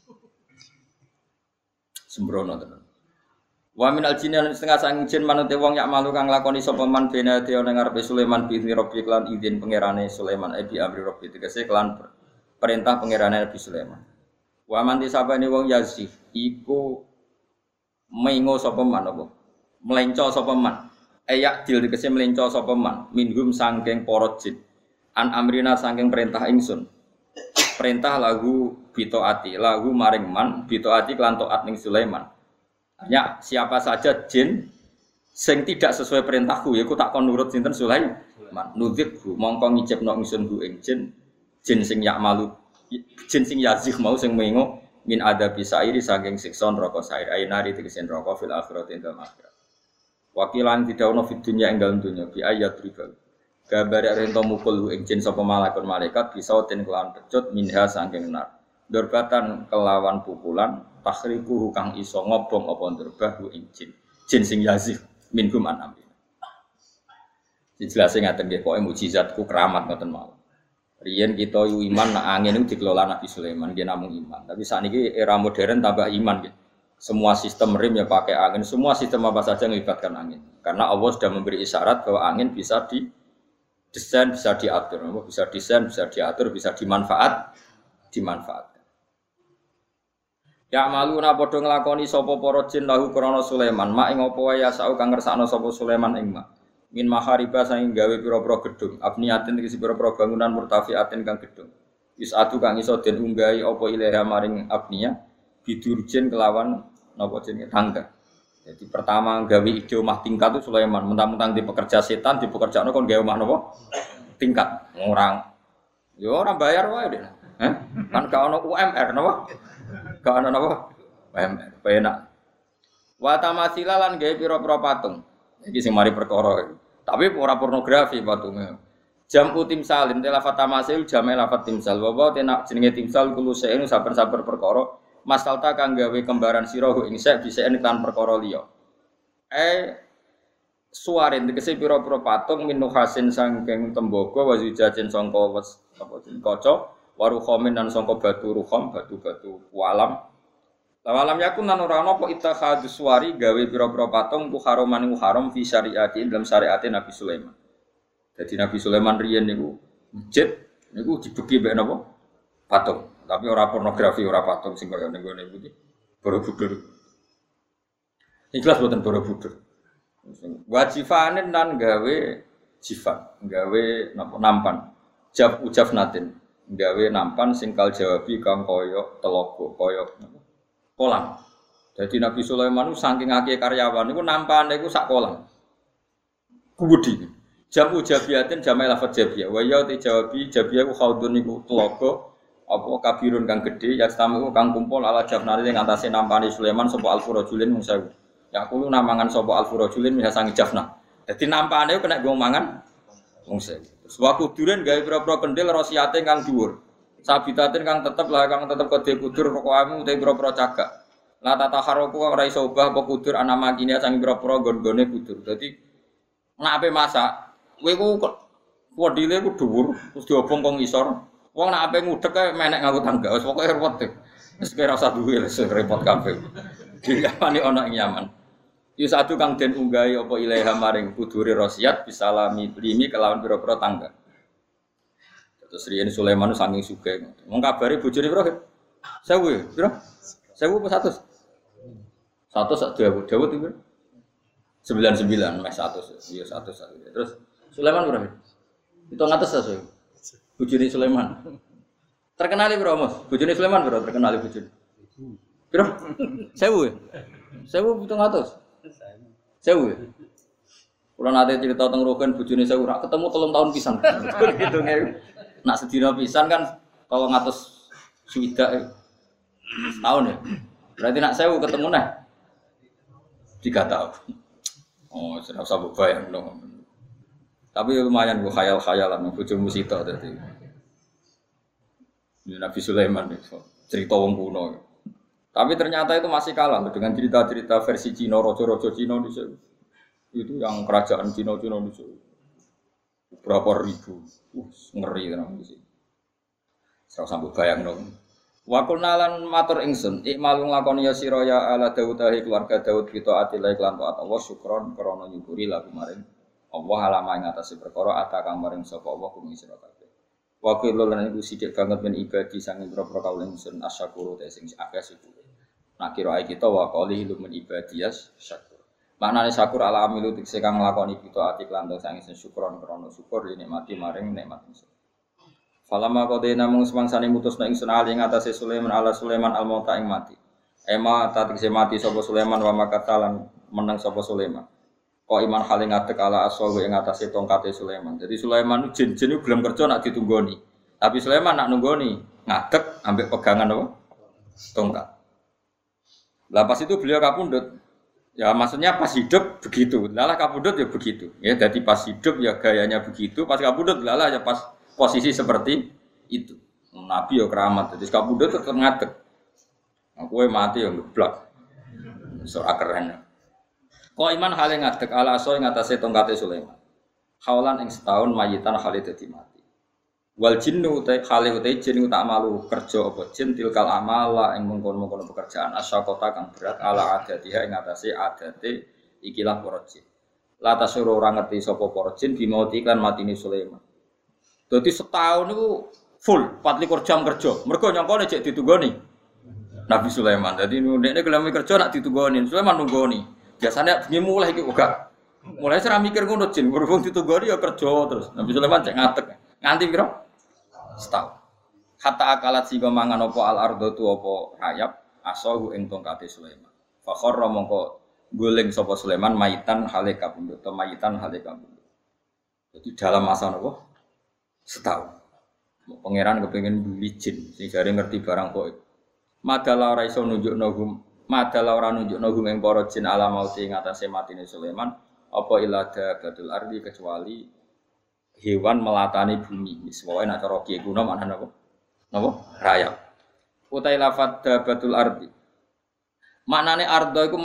Speaker 1: Sembrono tenan. Wa min al-jinni setengah sang jin manute wong yak malu kang lakoni sapa man bena dia ning ngarepe Sulaiman bi Rabbi klan izin pangerane Sulaiman bi amri Rabbi tegese klan perintah pangerane Nabi Sulaiman. Wa man disabane wong yazif iku mengo sapa man apa? Melenco sapa man. Ayak dil tegese melenco sapa man minhum saking para jin. An amrina saking perintah ingsun. Perintah lagu bitoati, lagu maring man bitoati klan taat ning Sulaiman. Artinya siapa saja jin sing tidak sesuai perintahku ya aku tak kon nurut sinten Sulaiman. Nudzibhu mongko ngicipno ingsun ku ing jin sing yak malu jin sing yazih mau sing mengo min ada bisairi saking siksa neraka sair ainari tegese neraka fil akhirat ing dalem akhirat. Wakilan didhawuhna fid dunya ing dalem dunya bi ayat ribal. Gambare rento mukul ing jin sapa malaikat bisa ten kelawan pecut minha saking nar. Durbatan kelawan pukulan takhriku kang iso ngobong apa nderbah ing jin. jin sing yazif minhum an amri. Dijelasin ngaten nggih pokoke mukjizatku keramat ngoten mawon. Riyen kita yu iman nak angin itu dikelola Nabi Sulaiman nggih namung iman. Tapi sakniki era modern tambah iman nggih. Semua sistem rem ya pakai angin, semua sistem apa saja melibatkan angin. Karena Allah sudah memberi isyarat bahwa angin bisa didesain, bisa diatur, bisa desain, bisa diatur, bisa dimanfaatkan. Ya maluna padha nglakoni sapa para jin lahu krana Sulaiman, mak ing apa wae yasau kang ngersakno sapa Sulaiman ing mak. Min mahariba saking gawe pira-pira gedung, abniatin tegese pira-pira bangunan murtafiatin kang gedung. Isatu kang iso den unggahi apa ilaha maring abnia bidurjen kelawan napa jenenge tangga. Jadi pertama gawe ide omah tingkat itu Sulaiman, mentang-mentang di pekerja setan, di pekerjaane kon gawe omah napa? Tingkat. Orang yo ora bayar wae deh. Kan gak ono UMR napa? Gak ono napa? UMR. Penak. Wa tamasila lan gawe pira-pira patung. Iki sing mari perkara. Tapi ora pornografi patungnya. Jamu timsalin telafat tamasil jamai lafat timsal. Wa tenak jenenge timsal kulo seenu saben-saben perkara masalta kang gawe kembaran sira ing sek biseen kan perkara liya. Suarin tegese pira-pira patung minuhasin sangking tembaga wa zujajen sangka wes apa jeneng kaca waruhamin lan sangka batu ruham batu-batu walam. Lawalam yakun lan ora ana apa ittakhadus suwari gawe pira-pira patung ku haroman haram fi syariati dalam syariate Nabi Sulaiman. Jadi Nabi Sulaiman riyen niku masjid niku dibeki mbek napa? Patung. Tapi ora pornografi, ora patung sing kaya ning ngene iki. Borobudur. Ikhlas boten Borobudur. Wajifanen lan gawe jifan, gawe napa nampan. Ujaf natin, gawe nampan sing kal jawabi kang kaya telaga, kaya kolam. Jadi Nabi Sulaiman itu saking akeh karyawan niku nampane iku sak kolam. Kubudi. Jamu jabiatin jamai lafaz jabiyah. Wa ya te jawabi jabiyah ku khaudun niku telaga apa kabirun kang gedhe ya tamu kang kumpul ala jafnari ing atase nampane Sulaiman sapa alfurajulin mung 1000. Ya kulo namangan sapa alfurajulin bisa sangi jafna. Dadi nampane kena nggo mangan wong 1000. Terus wa kuduren gawe pira-pira kendhil rosiate kang dhuwur. Sabitatin kang tetep kode kudur pokokane utek pira-pira cagak. La tataharoku ora iso obah apa kudur ana makine sang pira-pira gon-gone kudur. Dadi nek ape masak, kowe ku wadile ku dhuwur terus diobong kok ngisor. Wong nek ape ngudek kae menek nganggo tangga. Wis pokoke repot. Wis kira ora usah duwe wis repot kabeh. Diapane ana ing Yaman. Yu satu kang den unggahi apa ilaha maring kudure rosiat bisalami limi kelawan pira-pira tangga. Terus riyen Sulaiman saking sugih. Wong kabare bojone pira? 1000, pira? 1000 apa 100? 100 sak Dawud itu. 99 mes 100. Iya 100. Terus Sulaiman pira? 700 ta, bojone Sulaiman. Terkenal pira, Mas? Bojone Sulaiman pira terkenal bojone? Pira? 1000 ya? 1700. 1000. Kalau nanti cerita tentang Rogen bojone 1000 rak ketemu 3 tahun pisan. Gitu nggih. Nak sedina pisan kan kalau ngatus swidak setahun ya. Berarti nak 1000 ketemu nah 3 tahun. Oh, sudah usah bayang dong. Tapi lumayan gue khayal-khayalan bojomu sita dadi. Nabi Sulaiman itu cerita wong kuno. Tapi ternyata itu masih kalah dengan cerita-cerita versi Cina, raja-raja Cina itu yang kerajaan Cina itu berapa ribu, ngeri kan di sini. Saya sambil bayang dong. Wakul nalan matur ingsun, ikmalung lakoni ya siraya ala Dawudahi keluarga Dawud kita atilai kelan taat Allah syukron krono nyukuri lagu maring Allah alama ing atase perkara atakang maring sapa Allah kumi sira kabeh. Wakil lan iku sithik banget men ibadi sanging propro kaul ingsun asyakuru te sing akeh syukur. Nak kira kita wa qali lu men ibadiyas syakur. Maknane syakur ala amilu tikse kang nglakoni kita ati lan sanging syukron krono syukur nikmati maring nikmat ingsun. Falama qadaina mung semangsane mutusna ingsun ali ing atase Sulaiman ala Sulaiman al-mauta ing mati. Ema tatikse mati sapa Sulaiman wa makatalan menang sapa Sulaiman. Kok iman hale ngadeg ala aswahu ing atase tongkate Sulaiman. Jadi Sulaiman jin-jin gelem kerja nak ditunggoni. Tapi Sulaiman nak nunggoni ngadeg ambek pegangan apa? Tongkat. Lah pas itu beliau kapundhut. Ya maksudnya pas hidup begitu. Lalah kapundhut ya begitu. Ya jadi pas hidup ya gayanya begitu, pas kapundhut lalah ya pas posisi seperti itu. Nabi ya keramat. Jadi kapundhut tetep ngadeg. Nah, kowe mati ya ngeblak. Ora keren. Qaiman hale ngadeg ala aso ing atase tongkate Sulaiman. Haulan ing setahun mayitan hale dadi mati. Wal jinnu ta hale uta jin tak malu kerja apa jin tilkal amala ing mengkon-mengkon pekerjaan asyaqata kang berat ala adatiha ing atase adate ikilah para jin. La tasuru ora ngerti sapa para jin dimauti iklan matine Sulaiman. Dadi setahun niku full 24 jam kerja. Mergo nyangkone cek ditunggoni Nabi Sulaiman. Dadi ndekne gelem kerja nak ditunggoni Sulaiman nunggoni. Biasanya bengi mulai iki uga. Mulai cara mikir ngono jin, berhubung ditunggoni ya kerja terus. Nabi Sulaiman cek ngatek. Nganti piro? Setahun. Hatta akalat sing mangan apa al ardo tu apa rayap asahu ing tongkate Sulaiman. Fa kharra mongko guling sapa Sulaiman mayitan hale kabundut atau mayitan hale kabundut. Jadi dalam masa napa? Setahun. Pangeran kepengin buli jin sing jare ngerti barang kok. Madala ora iso nunjukno hum, madala ora nunjukno hum ing para jin ala mauti ing atase matine Sulaiman apa ilada badul ardi kecuali hewan melatani bumi. Wis wae nek cara kiye kuno maknane apa? Napa? Rayap. Utai lafadz dabatul ardi. Maknane ardo iku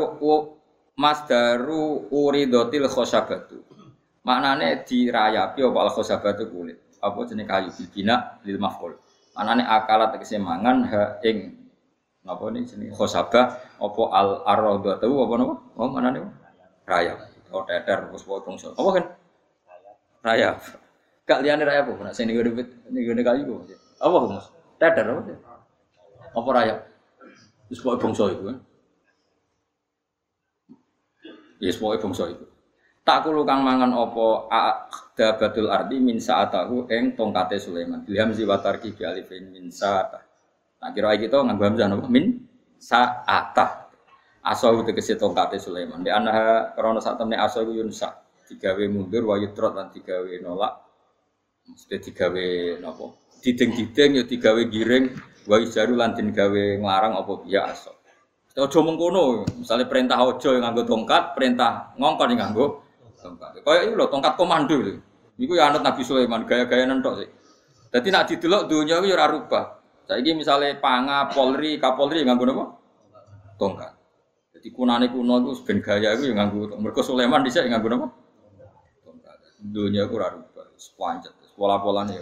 Speaker 1: masdaru uridotil khosabatu. Maknane dirayapi apa al khosabatu kulit. Apa jenenge kayu bina lil maf'ul. Maknane akalat tegese mangan ha ing napa niki jenenge khosabah apa al ardo tau apa napa? Oh maknane rayap. Oh teter terus bongso. Apa kan? Rayap. Gak liyane rayap apa? Nek sing ngene kayu kok. Apa Mas? Teter apa? Apa rayap? Wis pokoke bangsa iku kan. Wis pokoke bangsa iku. Tak kulo kang mangan apa dabatul ardi min sa'atahu ing tongkate Sulaiman. Bilham ziwatarki bi alifin min sa'atah. Tak kira iki to nganggo hamzah napa? Min sa'atah. Asahu tegese tongkate Sulaiman. Di ana krana sak temne asahu yunsa digawe mundur wa yutrot lan digawe nolak. Mesti digawe napa? Diding-diding ya digawe giring wa ijaru lan den gawe nglarang apa biasa. Aja mengkono, misale perintah aja nganggo tongkat, perintah ngongkon nganggo tongkat. Kaya iki lho tongkat komando lho. Iku ya anut Nabi Sulaiman gaya-gayanan tok sih. Dadi nek didelok donya iku ya ora rubah. Saiki misale Panga, Polri, Kapolri nganggo napa? Tongkat. Jadi kunane kuno iku ben gaya iku ya nganggo mergo Sulaiman dhisik nganggo napa? Tongkat. Donya iku ora rubah, pancet, pola-polane ya.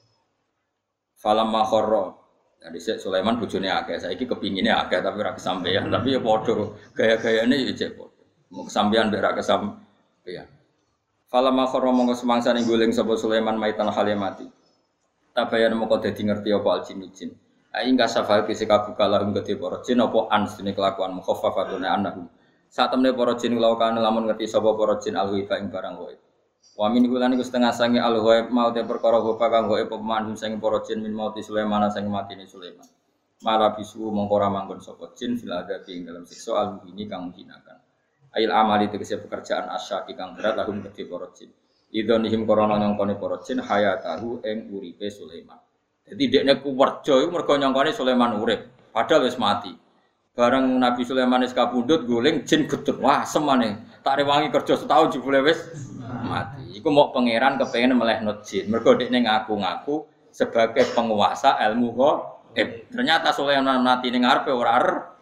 Speaker 1: Falamma kharra. Jadi Sulaiman bojone akeh, saiki kepingine akeh tapi ora kesampaian, tapi ya padha gaya-gayane ya cek padha. Mau kesampaian mek ora kesampaian. Falamma kharra mongko semangsane guling sapa Sulaiman maitan halimati. Tabayan mongko dadi ngerti apa aljin. Ai enggak safal kese kabuka lahum gede para jin apa ansine kelakuan mukhaffafatune annahum. Sak temne para jin lawan lamun ngerti sapa para jin alwifa ing barang wae. Wa min hulan iku setengah sange al-ghaib mau te perkara gopa kang gaib pemandu sing para jin min mauti Sulaiman sing matine Sulaiman. Mala bisu mongko ora manggon sapa jin fil adabi ing dalam siksa al-muhini kang menghinakan. Ail amali tegese pekerjaan asyaki kang berat lahum kedhe para jin. Idonihim korona nyongkone para jin hayatahu ing uripe Sulaiman. Dadi dekne kuwerja iku mergo nyongkone Sulaiman urip, padahal wis mati. Bareng Nabi Sulaiman wis kapundhut guling jin getut. Wah, semane. Tak rewangi kerja setahun jebule wis mati. Iku mau pangeran kepengin melehno jin. Mergo dekne ngaku-ngaku sebagai penguasa ilmu ghaib. Ternyata Sulaiman mati ning ngarepe ora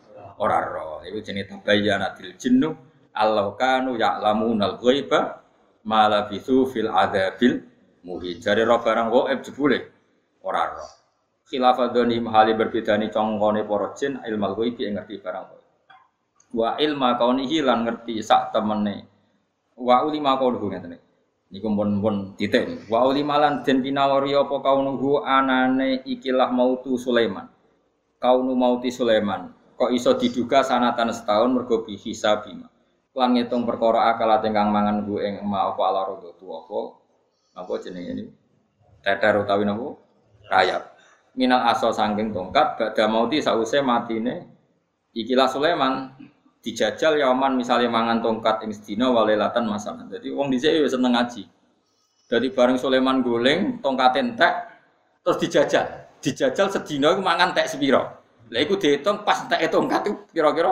Speaker 1: roh. Iku jenenge tabayyanatil jinnu allau kanu ya'lamunal ghaiba ma labithu fil adzabil muhin. Jare roh barang ghaib jebule ora roh. Khilafadoni mahali berbedani congkone para jin ilmal ghaibi ngerti barang ghaib. Wa ilma kaunihi lan ngerti sak temene. Wa ulima kauluhu ngeten iki. Niku pun titik. Wa ulima lan den pinawari apa kaunuhu anane ikilah mautu Sulaiman. Kaunu mauti Sulaiman. Kok iso diduga sanatan setahun mergo bi hisabima. Lan ngitung perkara akalat ingkang mangan ku ing ma apa ala rodo tuwa apa jenenge niku. Teter utawi napa? Rayap. Minal aso sangking tongkat badha mauti sause matine ikilah Sulaiman dijajal yaman misalnya mangan tongkat ing sedina walelatan masalah. Jadi wong dhisik ya seneng ngaji. Jadi bareng Sulaiman guling tongkat entek terus dijajal. Dijajal sedina iku mangan tek sepira. Lah iku diitung pas entek tongkat itu kira-kira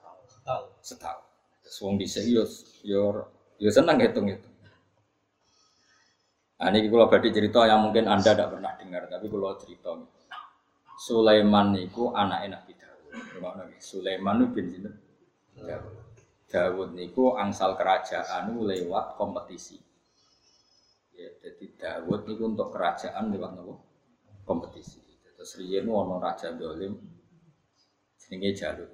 Speaker 1: setahun. Terus wong dhisik yo seneng hitung itu. Nah, ini kalau badhe cerita yang mungkin Anda tidak pernah dengar, tapi kalau cerita Sulaiman niku anake Nabi Daud. Sulaiman bin sinten? Daud niku angsal kerajaan lewat kompetisi. Ya, jadi Daud niku untuk kerajaan lewat nopo? Kompetisi. Terus riyen ono raja dolim jenenge Jalut.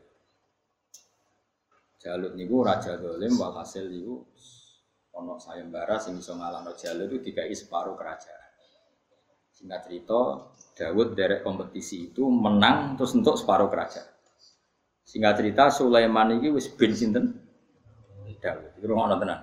Speaker 1: Jalut niku raja dolim walhasil niku ono sayembara sing iso ngalahno Jalut itu dikai separuh kerajaan. Singkat cerita, Daud derek kompetisi itu menang terus untuk separuh kerajaan. Singkat cerita Sulaiman iki wis ben sinten? Daud. Iku ngono tenan.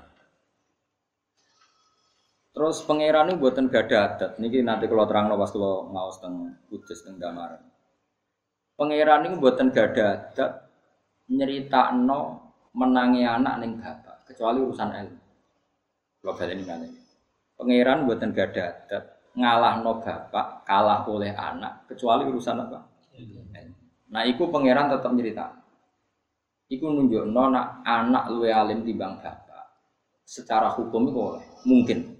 Speaker 1: Terus pangeran niku mboten gadah adat. Niki nanti kula terangno pas kula ngaos teng Kudus teng Damaran. Pangeran niku mboten gadah adat nyeritakno menangi anak ning bapak, kecuali urusan ilmu. Kula baleni ngene. Pangeran mboten gadah adat ngalahno bapak, kalah oleh anak, kecuali urusan apa? Nah, iku pangeran tetap nyeritakno. Iku nunjukno nak anak luwe alim timbang bapak. Secara hukum iku oleh mungkin.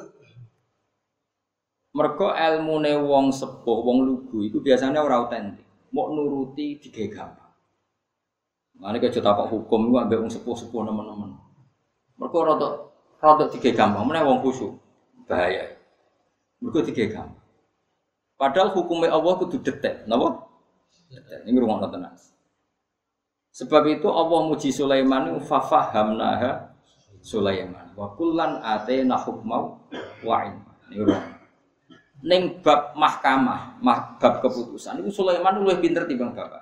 Speaker 1: Mergo ilmune wong sepuh, wong lugu iku biasanya ora otentik. Mok nuruti digawe gampang. Mane kaya tapak hukum iku ambek wong sepuh-sepuh nemen-nemen. Mergo rada digawe gampang, meneh wong khusyuk. Bahaya. Mergo digawe gampang. Padahal hukumnya Allah kudu detek, napa? Detek. Ini rungokno tenan. Sebab itu Allah muji Sulaiman fafahamnaha Sulaiman wa kullan atena hukmau wa ilma. Niku ning bab mahkamah, bab keputusan itu Sulaiman luwih pinter timbang bapak.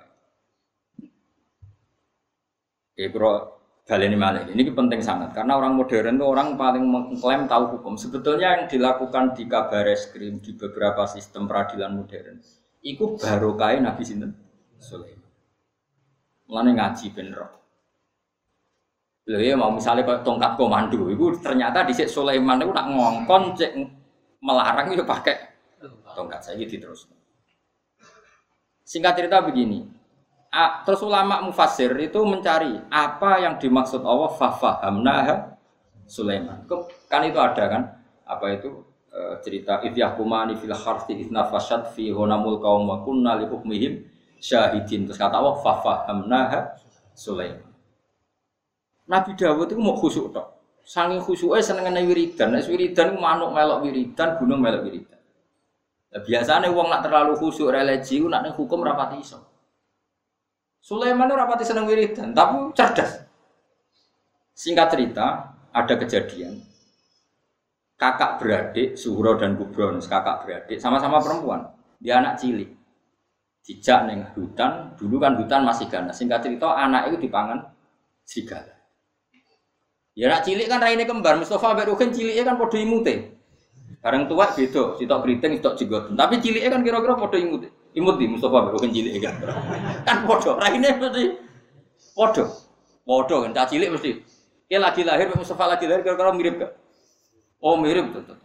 Speaker 1: Bro, baleni malih. Ini penting sangat karena orang modern itu orang paling mengklaim tahu hukum. Sebetulnya yang dilakukan di Kabareskrim di beberapa sistem peradilan modern itu barokah Nabi sinten Sulaiman. Mulane ngaji ben roh. Lha ya mau misale kaya tongkat komando iku ternyata dhisik Sulaiman niku nak ngongkon cek melarang ya pakai tongkat saiki diterusno. Singkat cerita begini. Terus ulama mufassir itu mencari apa yang dimaksud Allah fafahamnaha Sulaiman. Kan itu ada kan? Apa itu cerita idyahkumani fil harthi idnafashat fi honamul qaum wa kunna li hukmihim syahidin. Terus kata Allah fafahamnaha Sulaiman. Nabi Dawud itu mau khusyuk tok. Saking khusyuke senengane wiridan. Nek wiridan ku manuk melok wiridan, gunung melok wiridan. Lah biasane wong nak terlalu khusyuk religi ku nak ning hukum rapati iso. Sulaiman itu rapati seneng wiridan, tapi cerdas. Singkat cerita, ada kejadian kakak beradik Suhro dan Kubron, kakak beradik sama-sama perempuan. Dia anak cilik. Dijak ning hutan, dulu kan hutan masih ganas. Singkat cerita, anak itu dipangan serigala. Ya anak cilik kan raine kembar, Mustafa mbek Ruhin ciliknya kan padha imute. Bareng tua beda, sitok kriting, sitok jenggot. Tapi ciliknya kan kira-kira padha imute. Imut di Mustafa mbek Ruhin cilik kan. Kan padha, raine mesti padha. Padha kan cah cilik mesti. Ki lagi lahir Mustafa lagi lahir kira-kira mirip gak? Oh, mirip betul.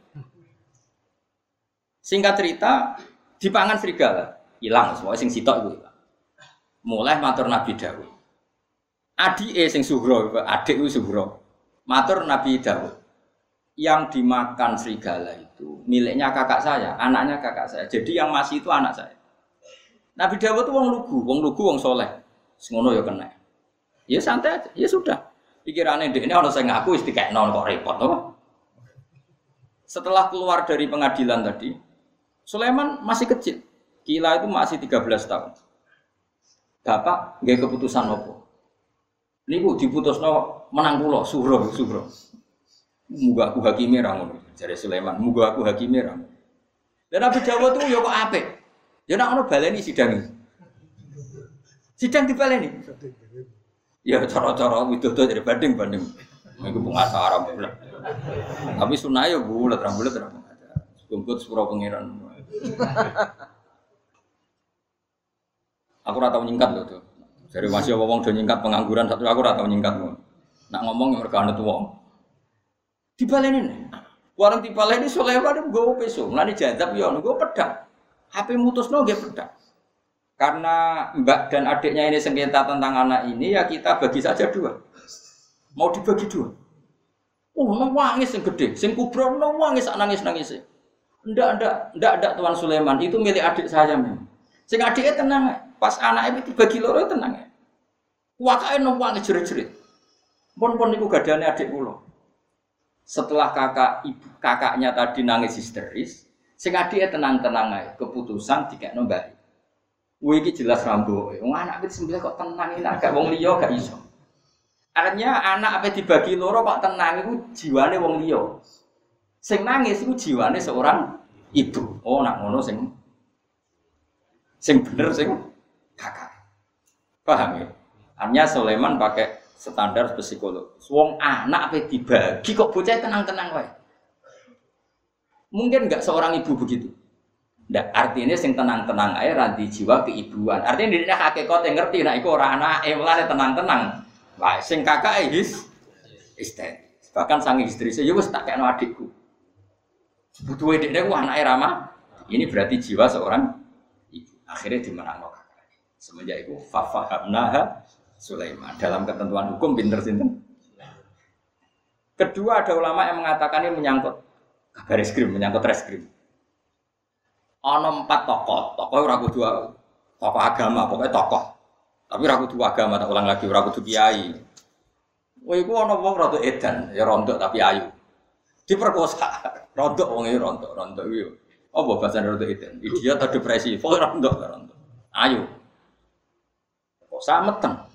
Speaker 1: Singkat cerita, dipangan serigala. Hilang semua sing sitok iku hilang. Mulai matur Nabi Dawud. Adike sing Suhro, adik ku Suhro. Matur Nabi Dawud. Yang dimakan serigala itu miliknya kakak saya, anaknya kakak saya. Jadi yang masih itu anak saya. Nabi Dawud itu wong lugu, wong soleh. Ngono ya kena. Ya santai aja, ya sudah. Pikirane ndekne ana sing ngaku wis dikekno kok repot apa? Setelah keluar dari pengadilan tadi, Sulaiman masih kecil. Kila itu masih 13 tahun. Bapak nggih keputusan opo? Niku diputusno menang kula Suhro. Muga aku hakime ra ngono. Jare Sulaiman, muga aku hakime ra. Lah Nabi Dawud tuh ya kok apik. Ya nek ono baleni sidang. Sidang dibaleni. Ya cara-cara widodo dari banding. Iku pengacara bulat. Tapi sunah ya bulat, ra bulat ra pengacara. Kumpul sepuro pangeran. Aku ora tau nyingkat lho tuh. Dari masih wong do nyingkat pengangguran satu aku ora tau nyingkat. Nak ngomong mergo ana wong. Dibaleni. Warung dibaleni Sulaiman nggowo peso. Mulane jazab ya nggo pedang. HP mutusno nggih pedang. Karena mbak dan adiknya ini sengketa tentang anak ini ya kita bagi saja dua. Mau dibagi dua. Oh, nangis yang gede, sing kubro nangis nangis. Ndak Tuan Sulaiman itu milik adik saya memang. Sing adiknya tenang, pas anaknya itu bagi loro tenang. Wakake nangis jerit-jerit. Pun niku gadane adik kula. Setelah kakaknya tadi nangis histeris, sing adike tenang-tenang ae, keputusan dikekno mbak. Kuwi iki jelas rambo. Wong anak wis sembelih kok tenang iki agak wong liya gak iso. Artinya anak apa dibagi loro kok tenang iku jiwane wong liya. Sing nangis iku jiwane seorang ibu. Oh nak ngono sing bener sing kakak. Paham ya? Artinya Sulaiman pakai standar psikolog. Wong anak apa dibagi kok bocah tenang-tenang wae. Mungkin enggak seorang ibu begitu. Ndak artinya sing tenang-tenang ae ra di jiwa keibuan. Artinya dene hakikat yang ngerti nek iku ora anake mulane tenang-tenang. Wah, sing kakake histeris. Bahkan sang istri ya wis tak kekno adikku. Butuhe dekne ku anake Rama. Ini berarti jiwa seorang ibu. Akhirnya dimenangno kakak. Semenjak itu fafahamnaha Sulaiman. Dalam ketentuan hukum pinter sinten. Kedua ada ulama yang mengatakan ini menyangkut kabar reskrim, menyangkut reskrim. Ana 4 tokoh ora kudu tokoh agama, pokoknya tokoh. Tapi ora kudu agama, tak ulang lagi, ora kudu kiai. Wah iku ana wong rada edan, ya rontok tapi ayu. Diperkosa. Rontok wong iki rontok iki. Apa bahasa rontok edan? Idiot atau depresi? Pokoknya rontok. Ayu. Kosa meteng.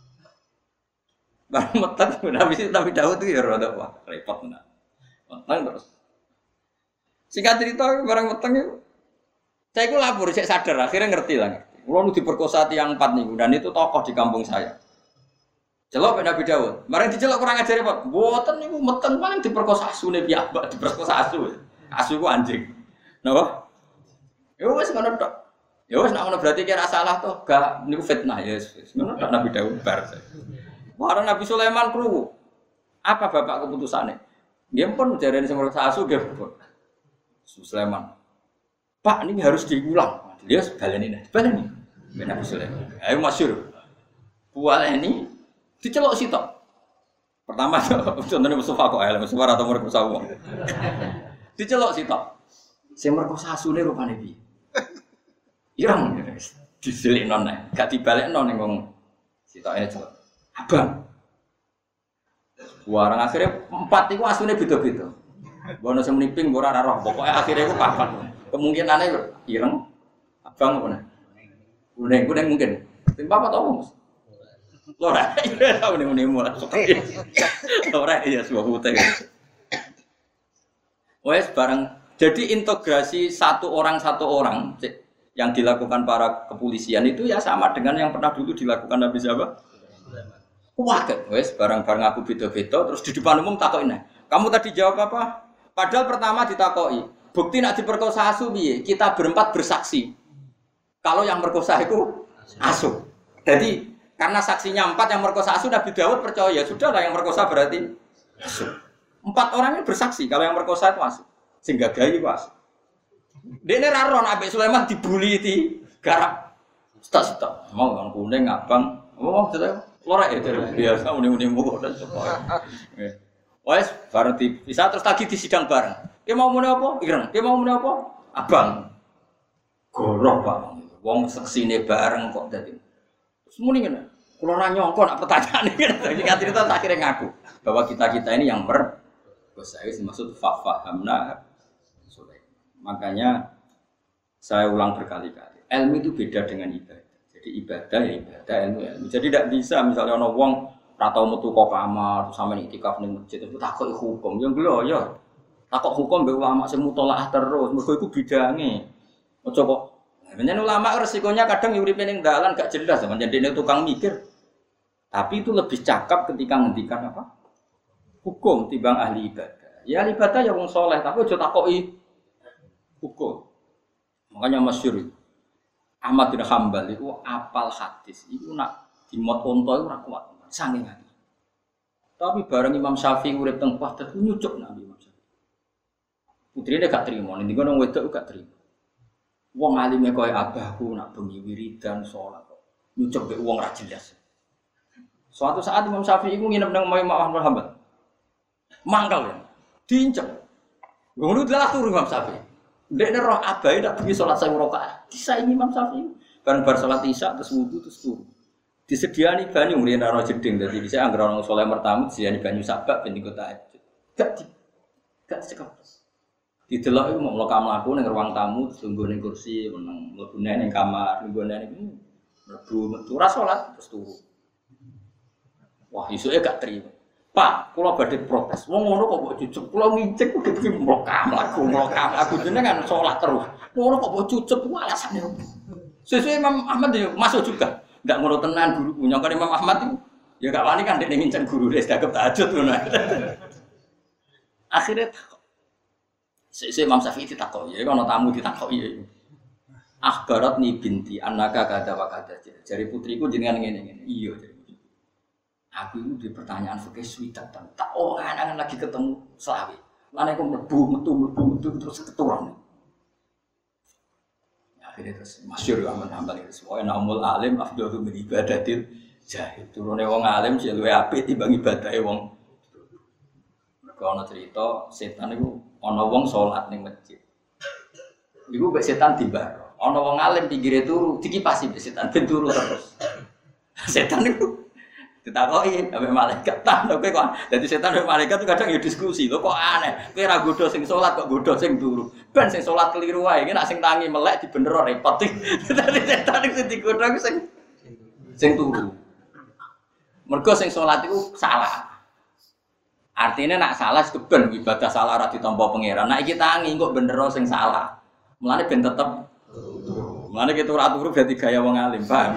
Speaker 1: Barang meteng, Nabi Daud itu ya rada wah repot nah. Meteng terus. Singkat cerita barang meteng itu. Saya itu lapor, saya sadar akhirnya ngerti lah. Kulo nu diperkosa tiyang 4 niku dan itu tokoh di kampung saya. Celok Nabi Daud. Barang dicelok kurang ajar Pak. Mboten niku meteng paling diperkosa asune piyambak, diperkosa asu. Asu ku anjing. Napa? Ya wis ngono tok. Ya wis nek ngono berarti kira salah toh, gak niku fitnah ya wis. Ngono tok Nabi Daud bar. Wah, Nabi Sulaiman krungu. Apa bapak keputusannya? Dia pun jarene sing merasa asu dia pun. Sulaiman. Pak, ini harus diulang. Dia baleni. Nabi Sulaiman. Ayo masyhur. Bualeni dicelok sitok. Pertama contohnya Mustafa kok elek Mustafa atau merkosa wong. Dicelok sitok. Sing merkosa asune rupane piye? Ireng diselikno nek, gak dibalekno ning wong sitoke celok. Abang. Warang akhirnya 4 itu asune beda-beda. Bono sing mliping ora roh, pokoke akhirnya iku 4. Kemungkinane ireng abang apa nih? Kuning mungkin. Tim apa to, Mas? Ora, ora muni-muni mulai. Ora iya sebuah putih. Wes bareng. Jadi integrasi satu orang yang dilakukan para kepolisian itu ya sama dengan yang pernah dulu dilakukan Nabi siapa? Waket, wes barang-barang aku beda-beda terus di depan umum takokin. Kamu tadi jawab apa? Padahal pertama ditakoi. Bukti nak diperkosa asu piye? Kita berempat bersaksi. Kalau yang merkosa itu asu. Jadi karena saksinya 4 yang merkosa asu Nabi Daud percaya sudahlah yang merkosa berarti asu. 4 orang ini bersaksi kalau yang merkosa itu asu. Sehingga gayi itu asu. Dene ra ron Nabi Sulaiman dibuli di garap. Stok. Mau kan kuning abang. Mau cerita lorek ya biasa muni-munimu dan sebagainya. Wes bareng bisa terus lagi di sidang bareng. Dia mau muni apa? Ireng. Dia mau muni apa? Abang. Goroh Pak. Wong seksine bareng kok dadi. Terus muni ngene. Kula ora nyangka nak pertanyaan iki. Jadi cerita akhirnya ngaku bahwa kita ini yang saya maksud fafahamna Sulaiman. Makanya saya ulang berkali-kali. Ilmu itu beda dengan ibadah. Jadi ibadah ya ibadah, ilmu. Jadi tidak bisa misalnya ana wong ora tau metu kok kamar terus sampeyan iktikaf ning masjid itu takok hukum. Ya lho ya. Takok hukum mbek ulama sing mutolaah terus. Mergo iku bidange. Aja kok. Menyang ulama resikonya kadang uripe ning dalan gak jelas sampeyan dene tukang mikir. Tapi itu lebih cakap ketika ngendikan apa? Hukum timbang ahli ibadah. Ya ahli ibadah ya wong saleh, tapi aja takoki hukum. Makanya masyhur Ahmad bin Hanbal itu apal hadis. Itu nak dimot onto itu ora kuat. Saking hati. Tapi bareng Imam Syafi'i urip teng Baghdad nyucuk Nabi Imam Syafi'i. Putrine gak trimo, ning ngono wedok gak trimo. Wong alime koyo abahku nak bengi wiridan salat kok. Nyucuk mek wong ra jelas. Suatu saat Imam Syafi'i iku nginep nang Imam Ahmad bin Hanbal. Mangkal ya. Diincek. Ngono dalah turu Imam Syafi'i. Ndekne roh abahe tak bengi salat 1000 rakaat. Disaingi Imam Syafi'i. Bareng bar salat Isya terus wudu terus turu. Disediani banyu ngriyen ana jeding dadi bisa anggere ana saleh mertamu disediani banyu sabak ben iku tahajud. Gak cekap. Didelok iku mau mlaku ning ruang tamu terus lungguh ning kursi meneng mlebu ning kamar lungguh ning mlebu metu ora salat terus turu. Wah, isuke gak trimo. Pak, kula badhe protes. Wong ngono kok mbok cucuk. Kula ngincik kudu mlokam aku jenengan salat terus. Ngono kok mbok cucuk ku alasane opo? Sesuai Imam Ahmad ya masuk juga. Enggak ngono tenan guru. Nyangka Imam Ahmad itu ya gak wani kan dekne ngincen guru wis dagep tahajud ngono. Akhirnya Sesi Imam Syafi'i ditakoki, ya ana tamu ditakoki. Akhbarat ni binti annaka kada wa kada. Jari putriku jenengan ngene-ngene. Iya, aku itu di pertanyaan fikih swidak tak angan lagi ketemu selawe. Lan aku mlebu terus keturunan. Akhirnya terus masyhur Ahmad Hambal itu semua namul alim afdalu min ibadatil jahil. Turune wong alim sing luwih apik timbang ibadahe wong. Mergo ana cerita setan iku ana wong salat ning masjid. Iku mbek setan tiba. Ana wong alim pinggire turu, dikipasi mbek setan ben turu terus. Setan iku ditakoki ambek malaikat ta kowe kok dadi setan ambek malaikat itu kadang ya diskusi lho kok aneh kowe ra godho sing salat kok godho sing turu ben sing salat keliru wae iki nek sing tangi melek dibener repot dadi setan iku digodho sing turu mergo sing salat iku salah artinya nak salah keben ibadah salah ora ditampa pangeran nek iki tangi kok bener sing salah mulane ben tetep mulane kita ora turu berarti gaya wong alim paham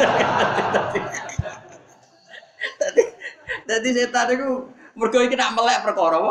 Speaker 1: Jadi setan itu mergo iki nak melek perkara apa?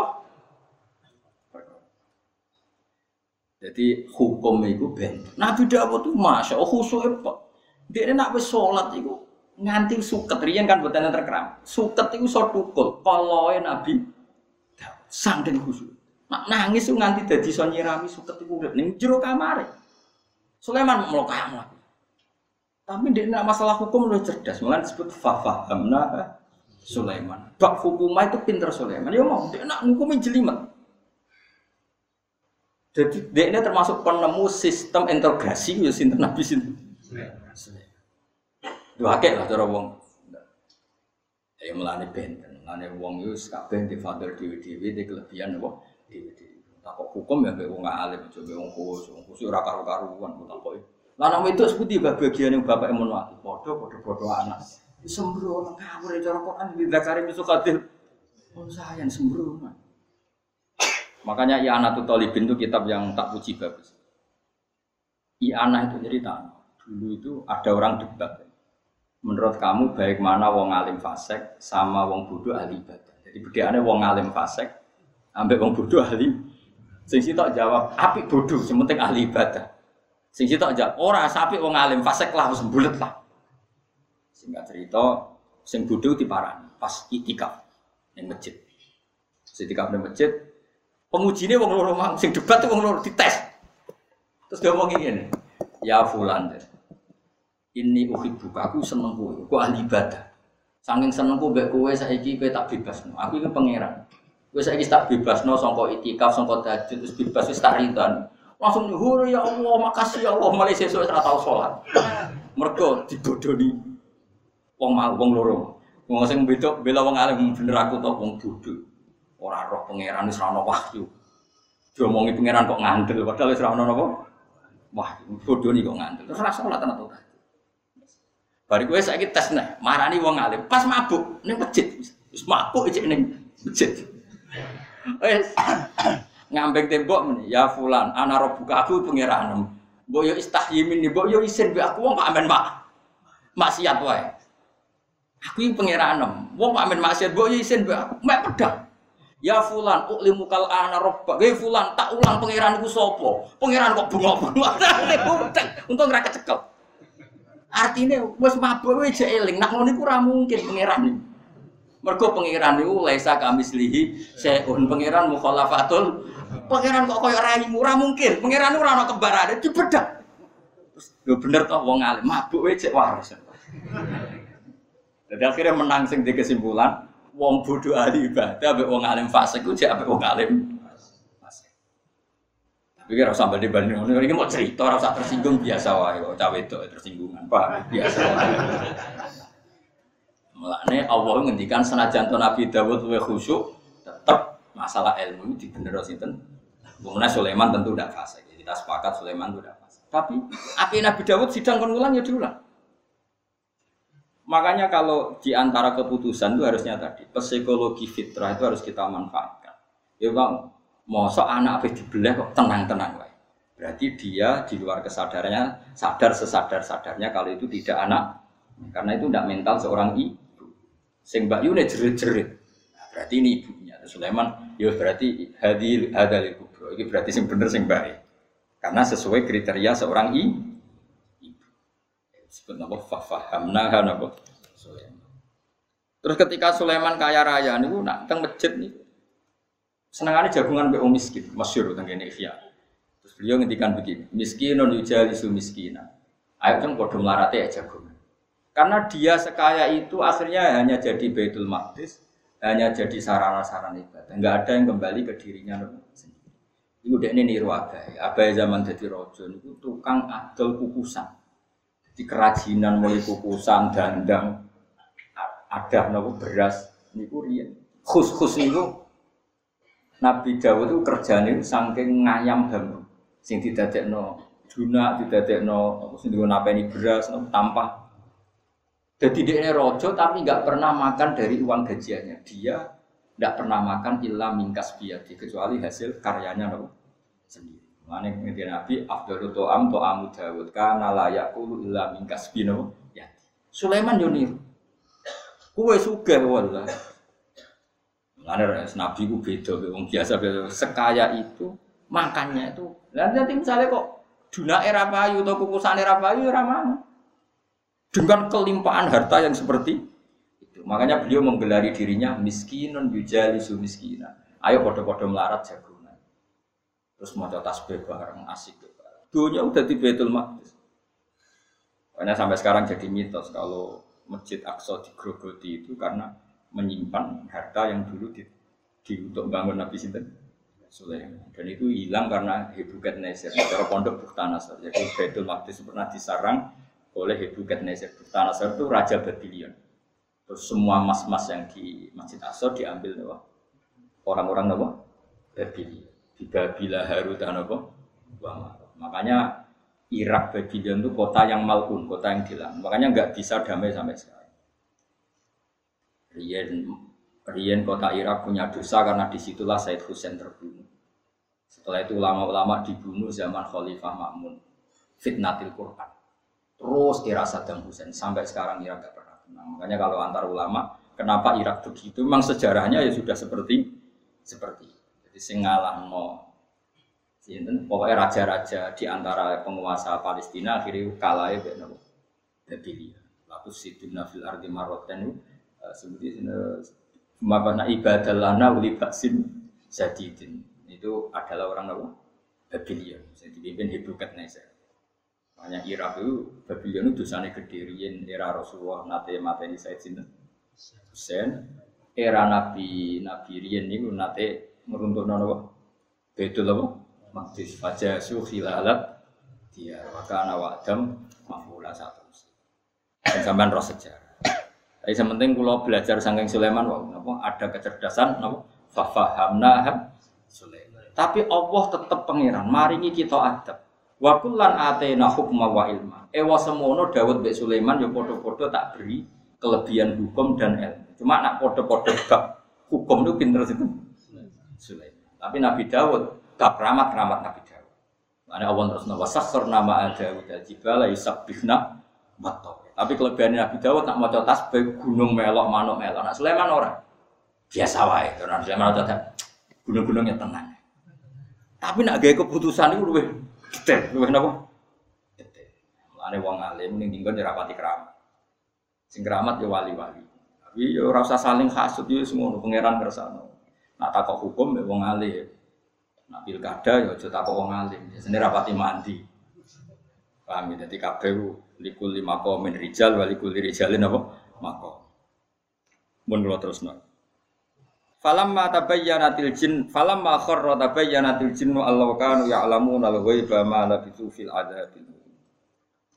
Speaker 1: Jadi hukum itu ben. Nabi Dawud itu masya Allah khusyuke kok. Dekne nak wis salat iku nganti suket riyen kan boten terkeram. Suket iku iso tukul kaloe Nabi Dawud sangden khusyuk. Nak nangis ku nganti dadi iso nyirami suket iku urip ning jero kamare. Sulaiman mlokam. Tapi dekne masalah hukum luwih cerdas, malah disebut fahamna Sulaiman. Bab hukumah itu pinter Sulaiman. Ya mau dia nak ngukumi jelimet. Jadi dia ini termasuk penemu sistem integrasi ya sinten Nabi sinten. Sulaiman. Dua akeh lah cara wong. Ya melane benten. Melane wong yo kabeh di fadil dhewe-dhewe di kelebihan apa dhewe-dhewe. Takok hukum ya mbek wong alim aja mbek wong khusus ora karo-karuan takoki. Lah nek itu seputi bagian yang bapak emun mati. Padha-padha anak. Sembrono ngawur cara Quran di Zakari Misukatil. Oh sayang sembrono. Makanya I'anatul Thalibin itu kitab yang tak puji bagus. I'anah itu cerita. Dulu itu ada orang debat. Menurut kamu baik mana wong alim fasik sama wong bodoh ahli ibadah. Jadi bedane wong alim fasik ambek wong bodoh ahli. Sing sitok jawab apik bodoh, sing penting ahli ibadah. Sing sitok jawab ora apik wong alim fasik lah wis mbulet lah. Singkat cerita, sing bodoh diparani pas itikaf ning masjid. Itikaf ning masjid, pengujine wong loro mang sing debat wong loro dites. Terus dia ngomong ngene, "Ya fulan, ini uhibbuka, aku seneng kowe, kok ahli ibadah. Saking senengku mbek kowe saiki kowe tak bebasno. Aku iki pangeran. Kowe saiki tak bebasno sangka itikaf, sangka tahajud terus bebas wis tak ridan." Langsung nyuhur ya Allah, makasih ya Allah, mulai sesuk ora tau salat. Mergo dibodoni wong loro. Wong sing bedok bela wong alim bener aku to wong bodho. Ora roh pangeran wis ora ono wahyu. Diomongi pangeran kok ngandel padahal wis ora ono napa? Wah, bodho ni kok ngandel. Terus ora salat ana to. Bari kowe saiki tes neh, marani wong alim pas mabuk ning masjid. Wis mabuk iki ning masjid. Wis ngambek tembok meneh, ya fulan, ana robuka aku pangeran. Mbok yo istahyimin, mbok yo isin mbek aku wong kok amen maksiat wae. Aku ini pengiranem, wong pamen maksiat, mbok isin mbak, mek pedang. Ya fulan, uklimu kal ana robba. Hei fulan, tak ulang pengiranku sapa? Pengiran kok bengok-bengok. Untung ora kecekel. Artine wis mabuk wis eling, nak ngono iku ora mungkin pengiran iki. Mergo pengiran niku laisa kamislihi seun pengiran mukhalafatul. Pengiran kok koyo raimu ora mungkin. Pengiran ora ana kembarane dibedhak. Terus lho bener to wong alim mabuk wis cek waras. Jadi akhirnya menang sing di kesimpulan wong bodoh ahli ibadah ambek wong alim fasik ku jek ambek wong alim fasik. Tapi kira sampai dibanding ngono iki mau cerita ora usah tersinggung biasa wae kok cawe wedok tersinggungan, Pak. Biasa wae. Mulane Allah ngendikan senajan Nabi Dawud luwih khusyuk, tetap masalah ilmu itu dibener sinten. Kemudian Sulaiman tentu tidak fasik. Kita sepakat Sulaiman itu tidak fasik. Tapi api Nabi Dawud sidang kon ulang ya diulang. Makanya kalau di antara keputusan itu harusnya tadi psikologi fitrah itu harus kita manfaatkan. Ya Bang, mosok anak apa dibelah kok tenang-tenang wae. Berarti dia di luar kesadarannya sadar sesadar-sadarnya kalau itu tidak anak. Karena itu tidak mental seorang ibu. Sing Mbak Yune jerit-jerit. Nah, berarti ini ibunya. Sulaiman, ya berarti hadal kubro. Ini berarti sing bener sing baik. Karena sesuai kriteria seorang ibu. Sebut nama fahamna napa Sulaiman. Terus ketika Sulaiman kaya raya niku nak teng masjid niku senengane jagungan mbek wong miskin, masyhur teng kene Ihya. Terus beliau ngendikan begini, miskinun yujalisu miskina. Ayo kan padha mlarate ya jagungan. Karena dia sekaya itu akhirnya hanya jadi Baitul Maqdis, hanya jadi sarana-sarana ibadah. Enggak ada yang kembali ke dirinya sendiri. Iku dekne niru Abai zaman dadi raja niku tukang adol kukusan. Di kerajinan mulai kukusan dandang ada nopo beras niku riyen khus niku Nabi Dawud itu kerjane saking ngayam bambu sing didadekno dunak didadekno sing digo napeni beras tampah. Jadi dia raja tapi enggak pernah makan dari uang gajiannya. Dia enggak pernah makan illa mingkas biati kecuali hasil karyanya nopo sendiri. Mane ngerti Nabi afdalu to'am to'amu Dawud kana la yaqulu illa min kasbino ya. Sulaiman yo niru. Kuwe sugih wallahi. Mane Nabi ku beda wong biasa sekaya itu makannya itu. Lah nanti misalnya kok dunake ra payu utawa kukusane ra payu ora mau. Dengan kelimpahan harta yang seperti itu. Makanya beliau menggelari dirinya miskinun yujalisu miskina. Ayo padha-padha melarat jago. Terus maca tasbih bareng asik bareng. Dunia udah di Baitul Maqdis. Makanya sampai sekarang jadi mitos kalau Masjid Aqsa digrogoti itu karena menyimpan harta yang dulu untuk bangun Nabi Sinten Sulaiman. Dan itu hilang karena Nebukadnezar. Cara pondok Bukhtanasar. Jadi Baitul Maqdis pernah disarang oleh Nebukadnezar. Bukhtanasar itu raja Babylon. Terus semua emas-emas yang di Masjid Aqsa diambil orang-orang Babylon. Di Babila Harut dan apa? Makanya Irak Babylon itu kota yang mal'un, kota yang dilarang. Makanya nggak bisa damai sampai sekarang. Rian kota Irak punya dosa karena disitulah Said Hussein terbunuh. Setelah itu ulama-ulama dibunuh zaman Khalifah Ma'mun, fitnatil Quran. Terus era Saddam Hussein sampai sekarang Irak nggak pernah tenang. Makanya kalau antar ulama, kenapa Irak begitu? Memang sejarahnya ya sudah seperti sing ngalahno sinten pokoke raja-raja di antara penguasa Palestina akhirnya kalahe mek napa Babylon. Lalu siduna fil ardi marratan seperti mabana ibadallana uli baksin sadidin. Itu adalah orang napa Babylon sing dipimpin Nebukadnezar. Makanya Irak itu Babylon itu dosane gede riyen era Rasulullah nate mateni Said sinten Hussein. Era Nabi riyen niku nate meruntuhkan apa? Betul apa? Maqdis fajasu khilalat dia wakana wa'dam maf'ula satu. Dan sampean roh sejarah. Tapi sementing kula belajar saking Sulaiman napa ada kecerdasan napa fahamna Sulaiman. Tapi Allah tetap pangeran maringi kita adab. Wa kullan atena hukma wa ilma. Ewa semono Daud mbek Sulaiman ya padha-padha tak beri kelebihan hukum dan ilmu. Cuma nak padha-padha bab hukum itu pinter situ. Sulaiman. Tapi Nabi Dawud gak keramat Nabi Dawud. Mana Allah terus nawasakhr nama Dawud al-jibala yusabbihna bato. Tapi kelebihan Nabi Dawud nak maca tasbih gunung melok manuk melok. Nak Sulaiman ora. Biasa wae. Karena Sulaiman maca gunung-gunungnya tenang. Tapi nak gawe keputusan itu luwih detail, luwih napa? Detail. Mulane wong alim ning dinggon ora pati keramat. Sing keramat ya wali-wali. Tapi ya ora usah saling hasud ya semono pangeran kersane. Nak takok hukum ya wong alim. Nak pilkada ya aja takok wong alim. Biasane rapati mandi. Paham ya? Dadi kabeh likul lima qaumin rijal wa likul rijalin apa? Maqam. Mun kula terusno. Falamma tabayyanatil jin falamma kharra tabayyanatil jinnu allahu kanu ya'lamuna al-ghaiba ma labithu fil adzabil.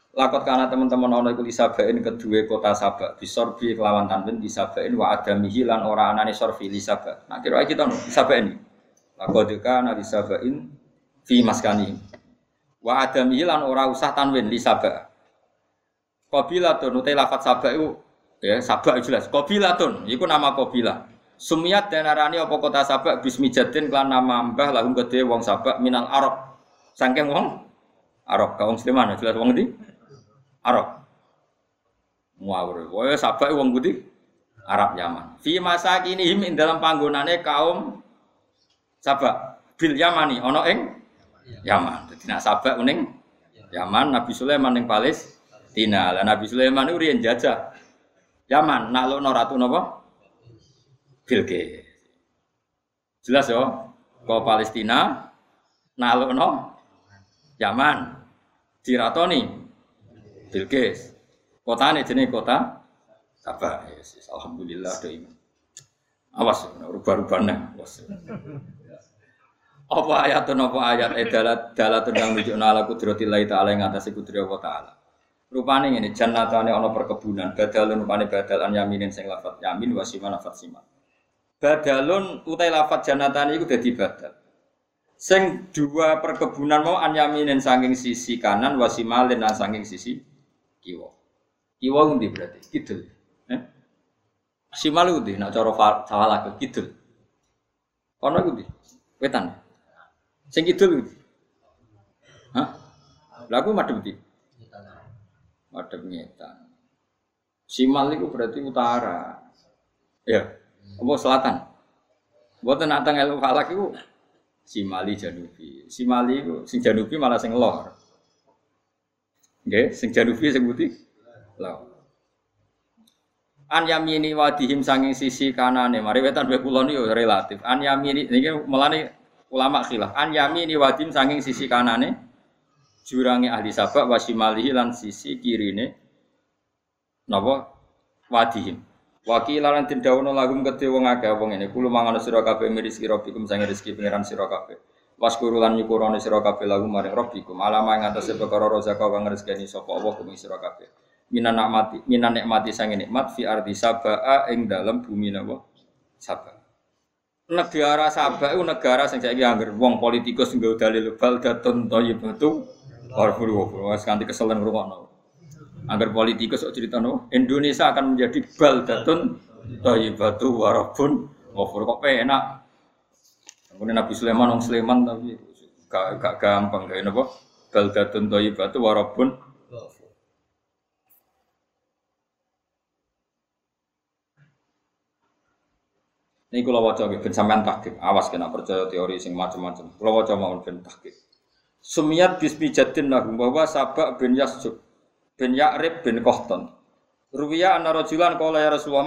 Speaker 1: Lakot kana teman-teman ana iku lisabain kedua kota Sabak bisorbi kelawan tanwin lisabain wa adamihi lan ora anane sorfi lisabak. Nah kira kita no lisabain. Lakot kana lisabain fi maskani. Wa adamihi lan ora usah tanwin lisabak. Qabilatun utai lafat Sabak iku ya Sabak jelas. Qabilatun iku nama qabilah. Sumiyat dan arani apa kota Sabak bismi jadin kelan nama mbah lahum kedhe wong Sabak minal Arab. Saking wong Arab kaum Sleman jelas wong ndi? Arab. Muawir. Wae Sabak wong putih Arab Yaman. Fi masakinihim ing dalam panggonane kaum Sabak bil Yamani ana ing Yaman. Dadi nek Sabak ning Yaman, Nabi Sulaiman ning Palestina. Lah Nabi Sulaiman iku riyen jajah Yaman, naklukno ratu napa? Bilqis. Jelas yo, ke Palestina naklukno Yaman diratoni Bilqis. Kotane jenenge kota Sabak. Yes, alhamdulillah do iman. Awas rubah-rubahne. Apa ayat dalatun kang nunjukna ala qudratillahi ta'ala ing atase kudrat Allah taala. Rupane ngene jannatane ana perkebunan, badalun rupane badalan yaminin sing lafat yamin wasiman lafat siman. Badalun utai lafat jannatane iku dadi badal. Sing dua perkebunan mau an yaminin saking sisi kanan wasimalin lan saking sisi kiwa. Kiwa ngendi berarti? Kidul. Simal ngendi? Nek cara salah ke kidul. Ono ngendi? Wetan. Sing kidul ngendi? Hah? Lah aku madhep ndi? Madhep ngetan. Simal iku berarti utara. Ya. Apa selatan? Mboten nak teng ilmu falak iku Simali Janubi. Simali iku sing Janubi malah sing lor. Nggih, sing Janubi sing putih lor. An yamini wadihim sanging sisi kanane. Mari wetan wae kulon yo relatif. An yamini niki melane ulama khilaf. An yamini wadihim sanging sisi kanane jurange ahli Sabak wasimalihi lan sisi kirine napa wadihim. Wakilan tin dawono lagum kedhe wong akeh wong ngene kulo mangan sira kabeh rezeki rabbikum sange rezeki pangeran sira kabeh waskuru lan nyukurane sira kabeh lagu maring rabbikum alama ing atase perkara rezeki kang rezekani sapa Allah kumi sira kabeh minan nikmati sange nikmat fi ardi Sabaa ing dalem bumi napa Sabak negara Sabak iku negara sing saiki angger wong politikus nggo dalil baldatun thayyibatu warfuru wis kanthi keselen ngrungokno. Agar politikus kok ceritano Indonesia akan menjadi baldatun thayyibatu warabun ghafur kok penak. Kemudian Nabi Sulaiman wong Sleman tapi gak gampang gawe napa baldatun thayyibatu warabun ghafur. Niki kula waca nggih ben sampean tahqiq. Awas kena percaya teori sing macam-macam. Kula waca mawon ben tahqiq. Sumiyat bismi jaddin lahum bahwa Sabak bin Yasjub bin Ya'rib bin Qahtan. Ruwiya anna rajulan qala ya Rasulullah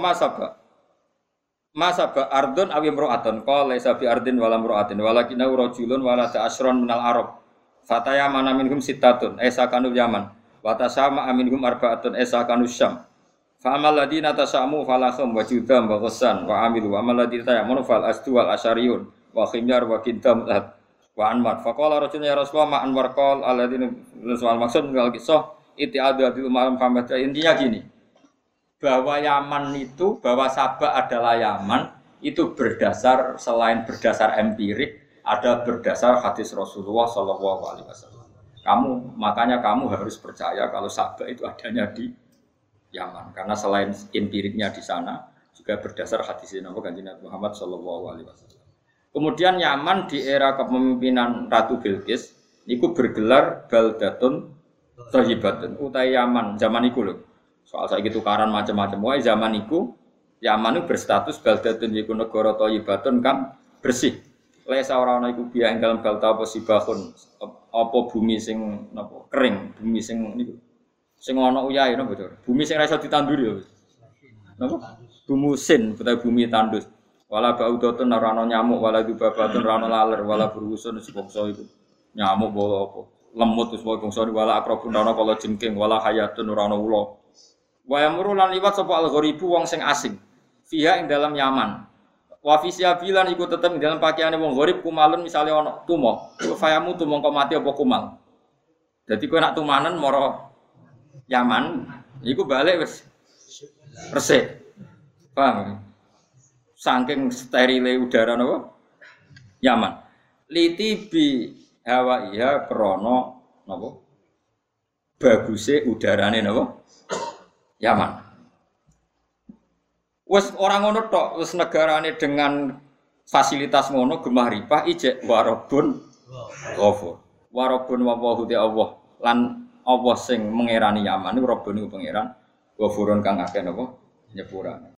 Speaker 1: ma sabak ardun aw imra'atun qala sabi ardin wala imra'atin walakinna rajulun wala ta'asron minal arab fataya mana minhum sittatun kanu yaman wa tasama minhum arba'atun kanu syam fa amal ladina tasamu falahum wajudam wa ghassan wa amilu wa amal ladina tayamunu fal asdu wal asyariyun wa khimyar wa kidam wa anwar fa qala rajulun ya Rasulullah ma anwar qal alladina soal maksud mengal kisah itiadul malam famada intinya gini bahwa Yaman itu bahwa Sabak adalah Yaman itu berdasar selain berdasar empirik ada berdasar hadis Rasulullah Shallallahu Alaihi Wasallam. Makanya kamu harus percaya kalau Sabak itu adanya di Yaman karena selain empiriknya di sana juga berdasar hadis Nabi Muhammad Shallallahu Alaihi Wasallam. Kemudian Yaman di era kepemimpinan Ratu Bilqis itu bergelar baldatun thayyibatun utai Yaman zaman iku lho. Soal saiki tukaran macam-macam wae zaman iku Yaman itu berstatus baldatun iku negara thayyibatun kan bersih. Lesa ora ana iku biya ing dalem balta apa sibahun apa bumi sing napa kering, bumi sing niku. Sing ana uyahe napa bocor. Bumi sing ra iso ditanduri lho. Napa? Bumusin utawa bumi tandus. Wala baudatun ora ana nyamuk, wala dubabatun ora ana laler, wala burusun sebangsa iku. Nyamuk bola apa? Lemut wis wae bangsa wala akrabun ana kala jengking wala hayatun ora ana ula. Wa yamuru lan liwat sapa al-gharibu wong sing asing. Fiha ing dalam Yaman. Wa fi siabilan iku tetep ing dalam pakaiane wong gharib kumalun misale ana tumo. Iku fayamu tumangka mati apa kumal. Dadi kowe nak tumanen mara Yaman, iku balik wis resik. Paham? Saking sterile udara napa? Yaman. Liti bi hawa iya krana napa? Baguse udarane napa? Yaman. Wes orang ngono tok, wes negarane dengan fasilitas ngono gemah ripah ijek warabun ghafur. Warabun wawahu te Allah lan Allah sing mengerani Yaman niku Rabbun niku pangeran ghafurun kang akeh napa nyepurane.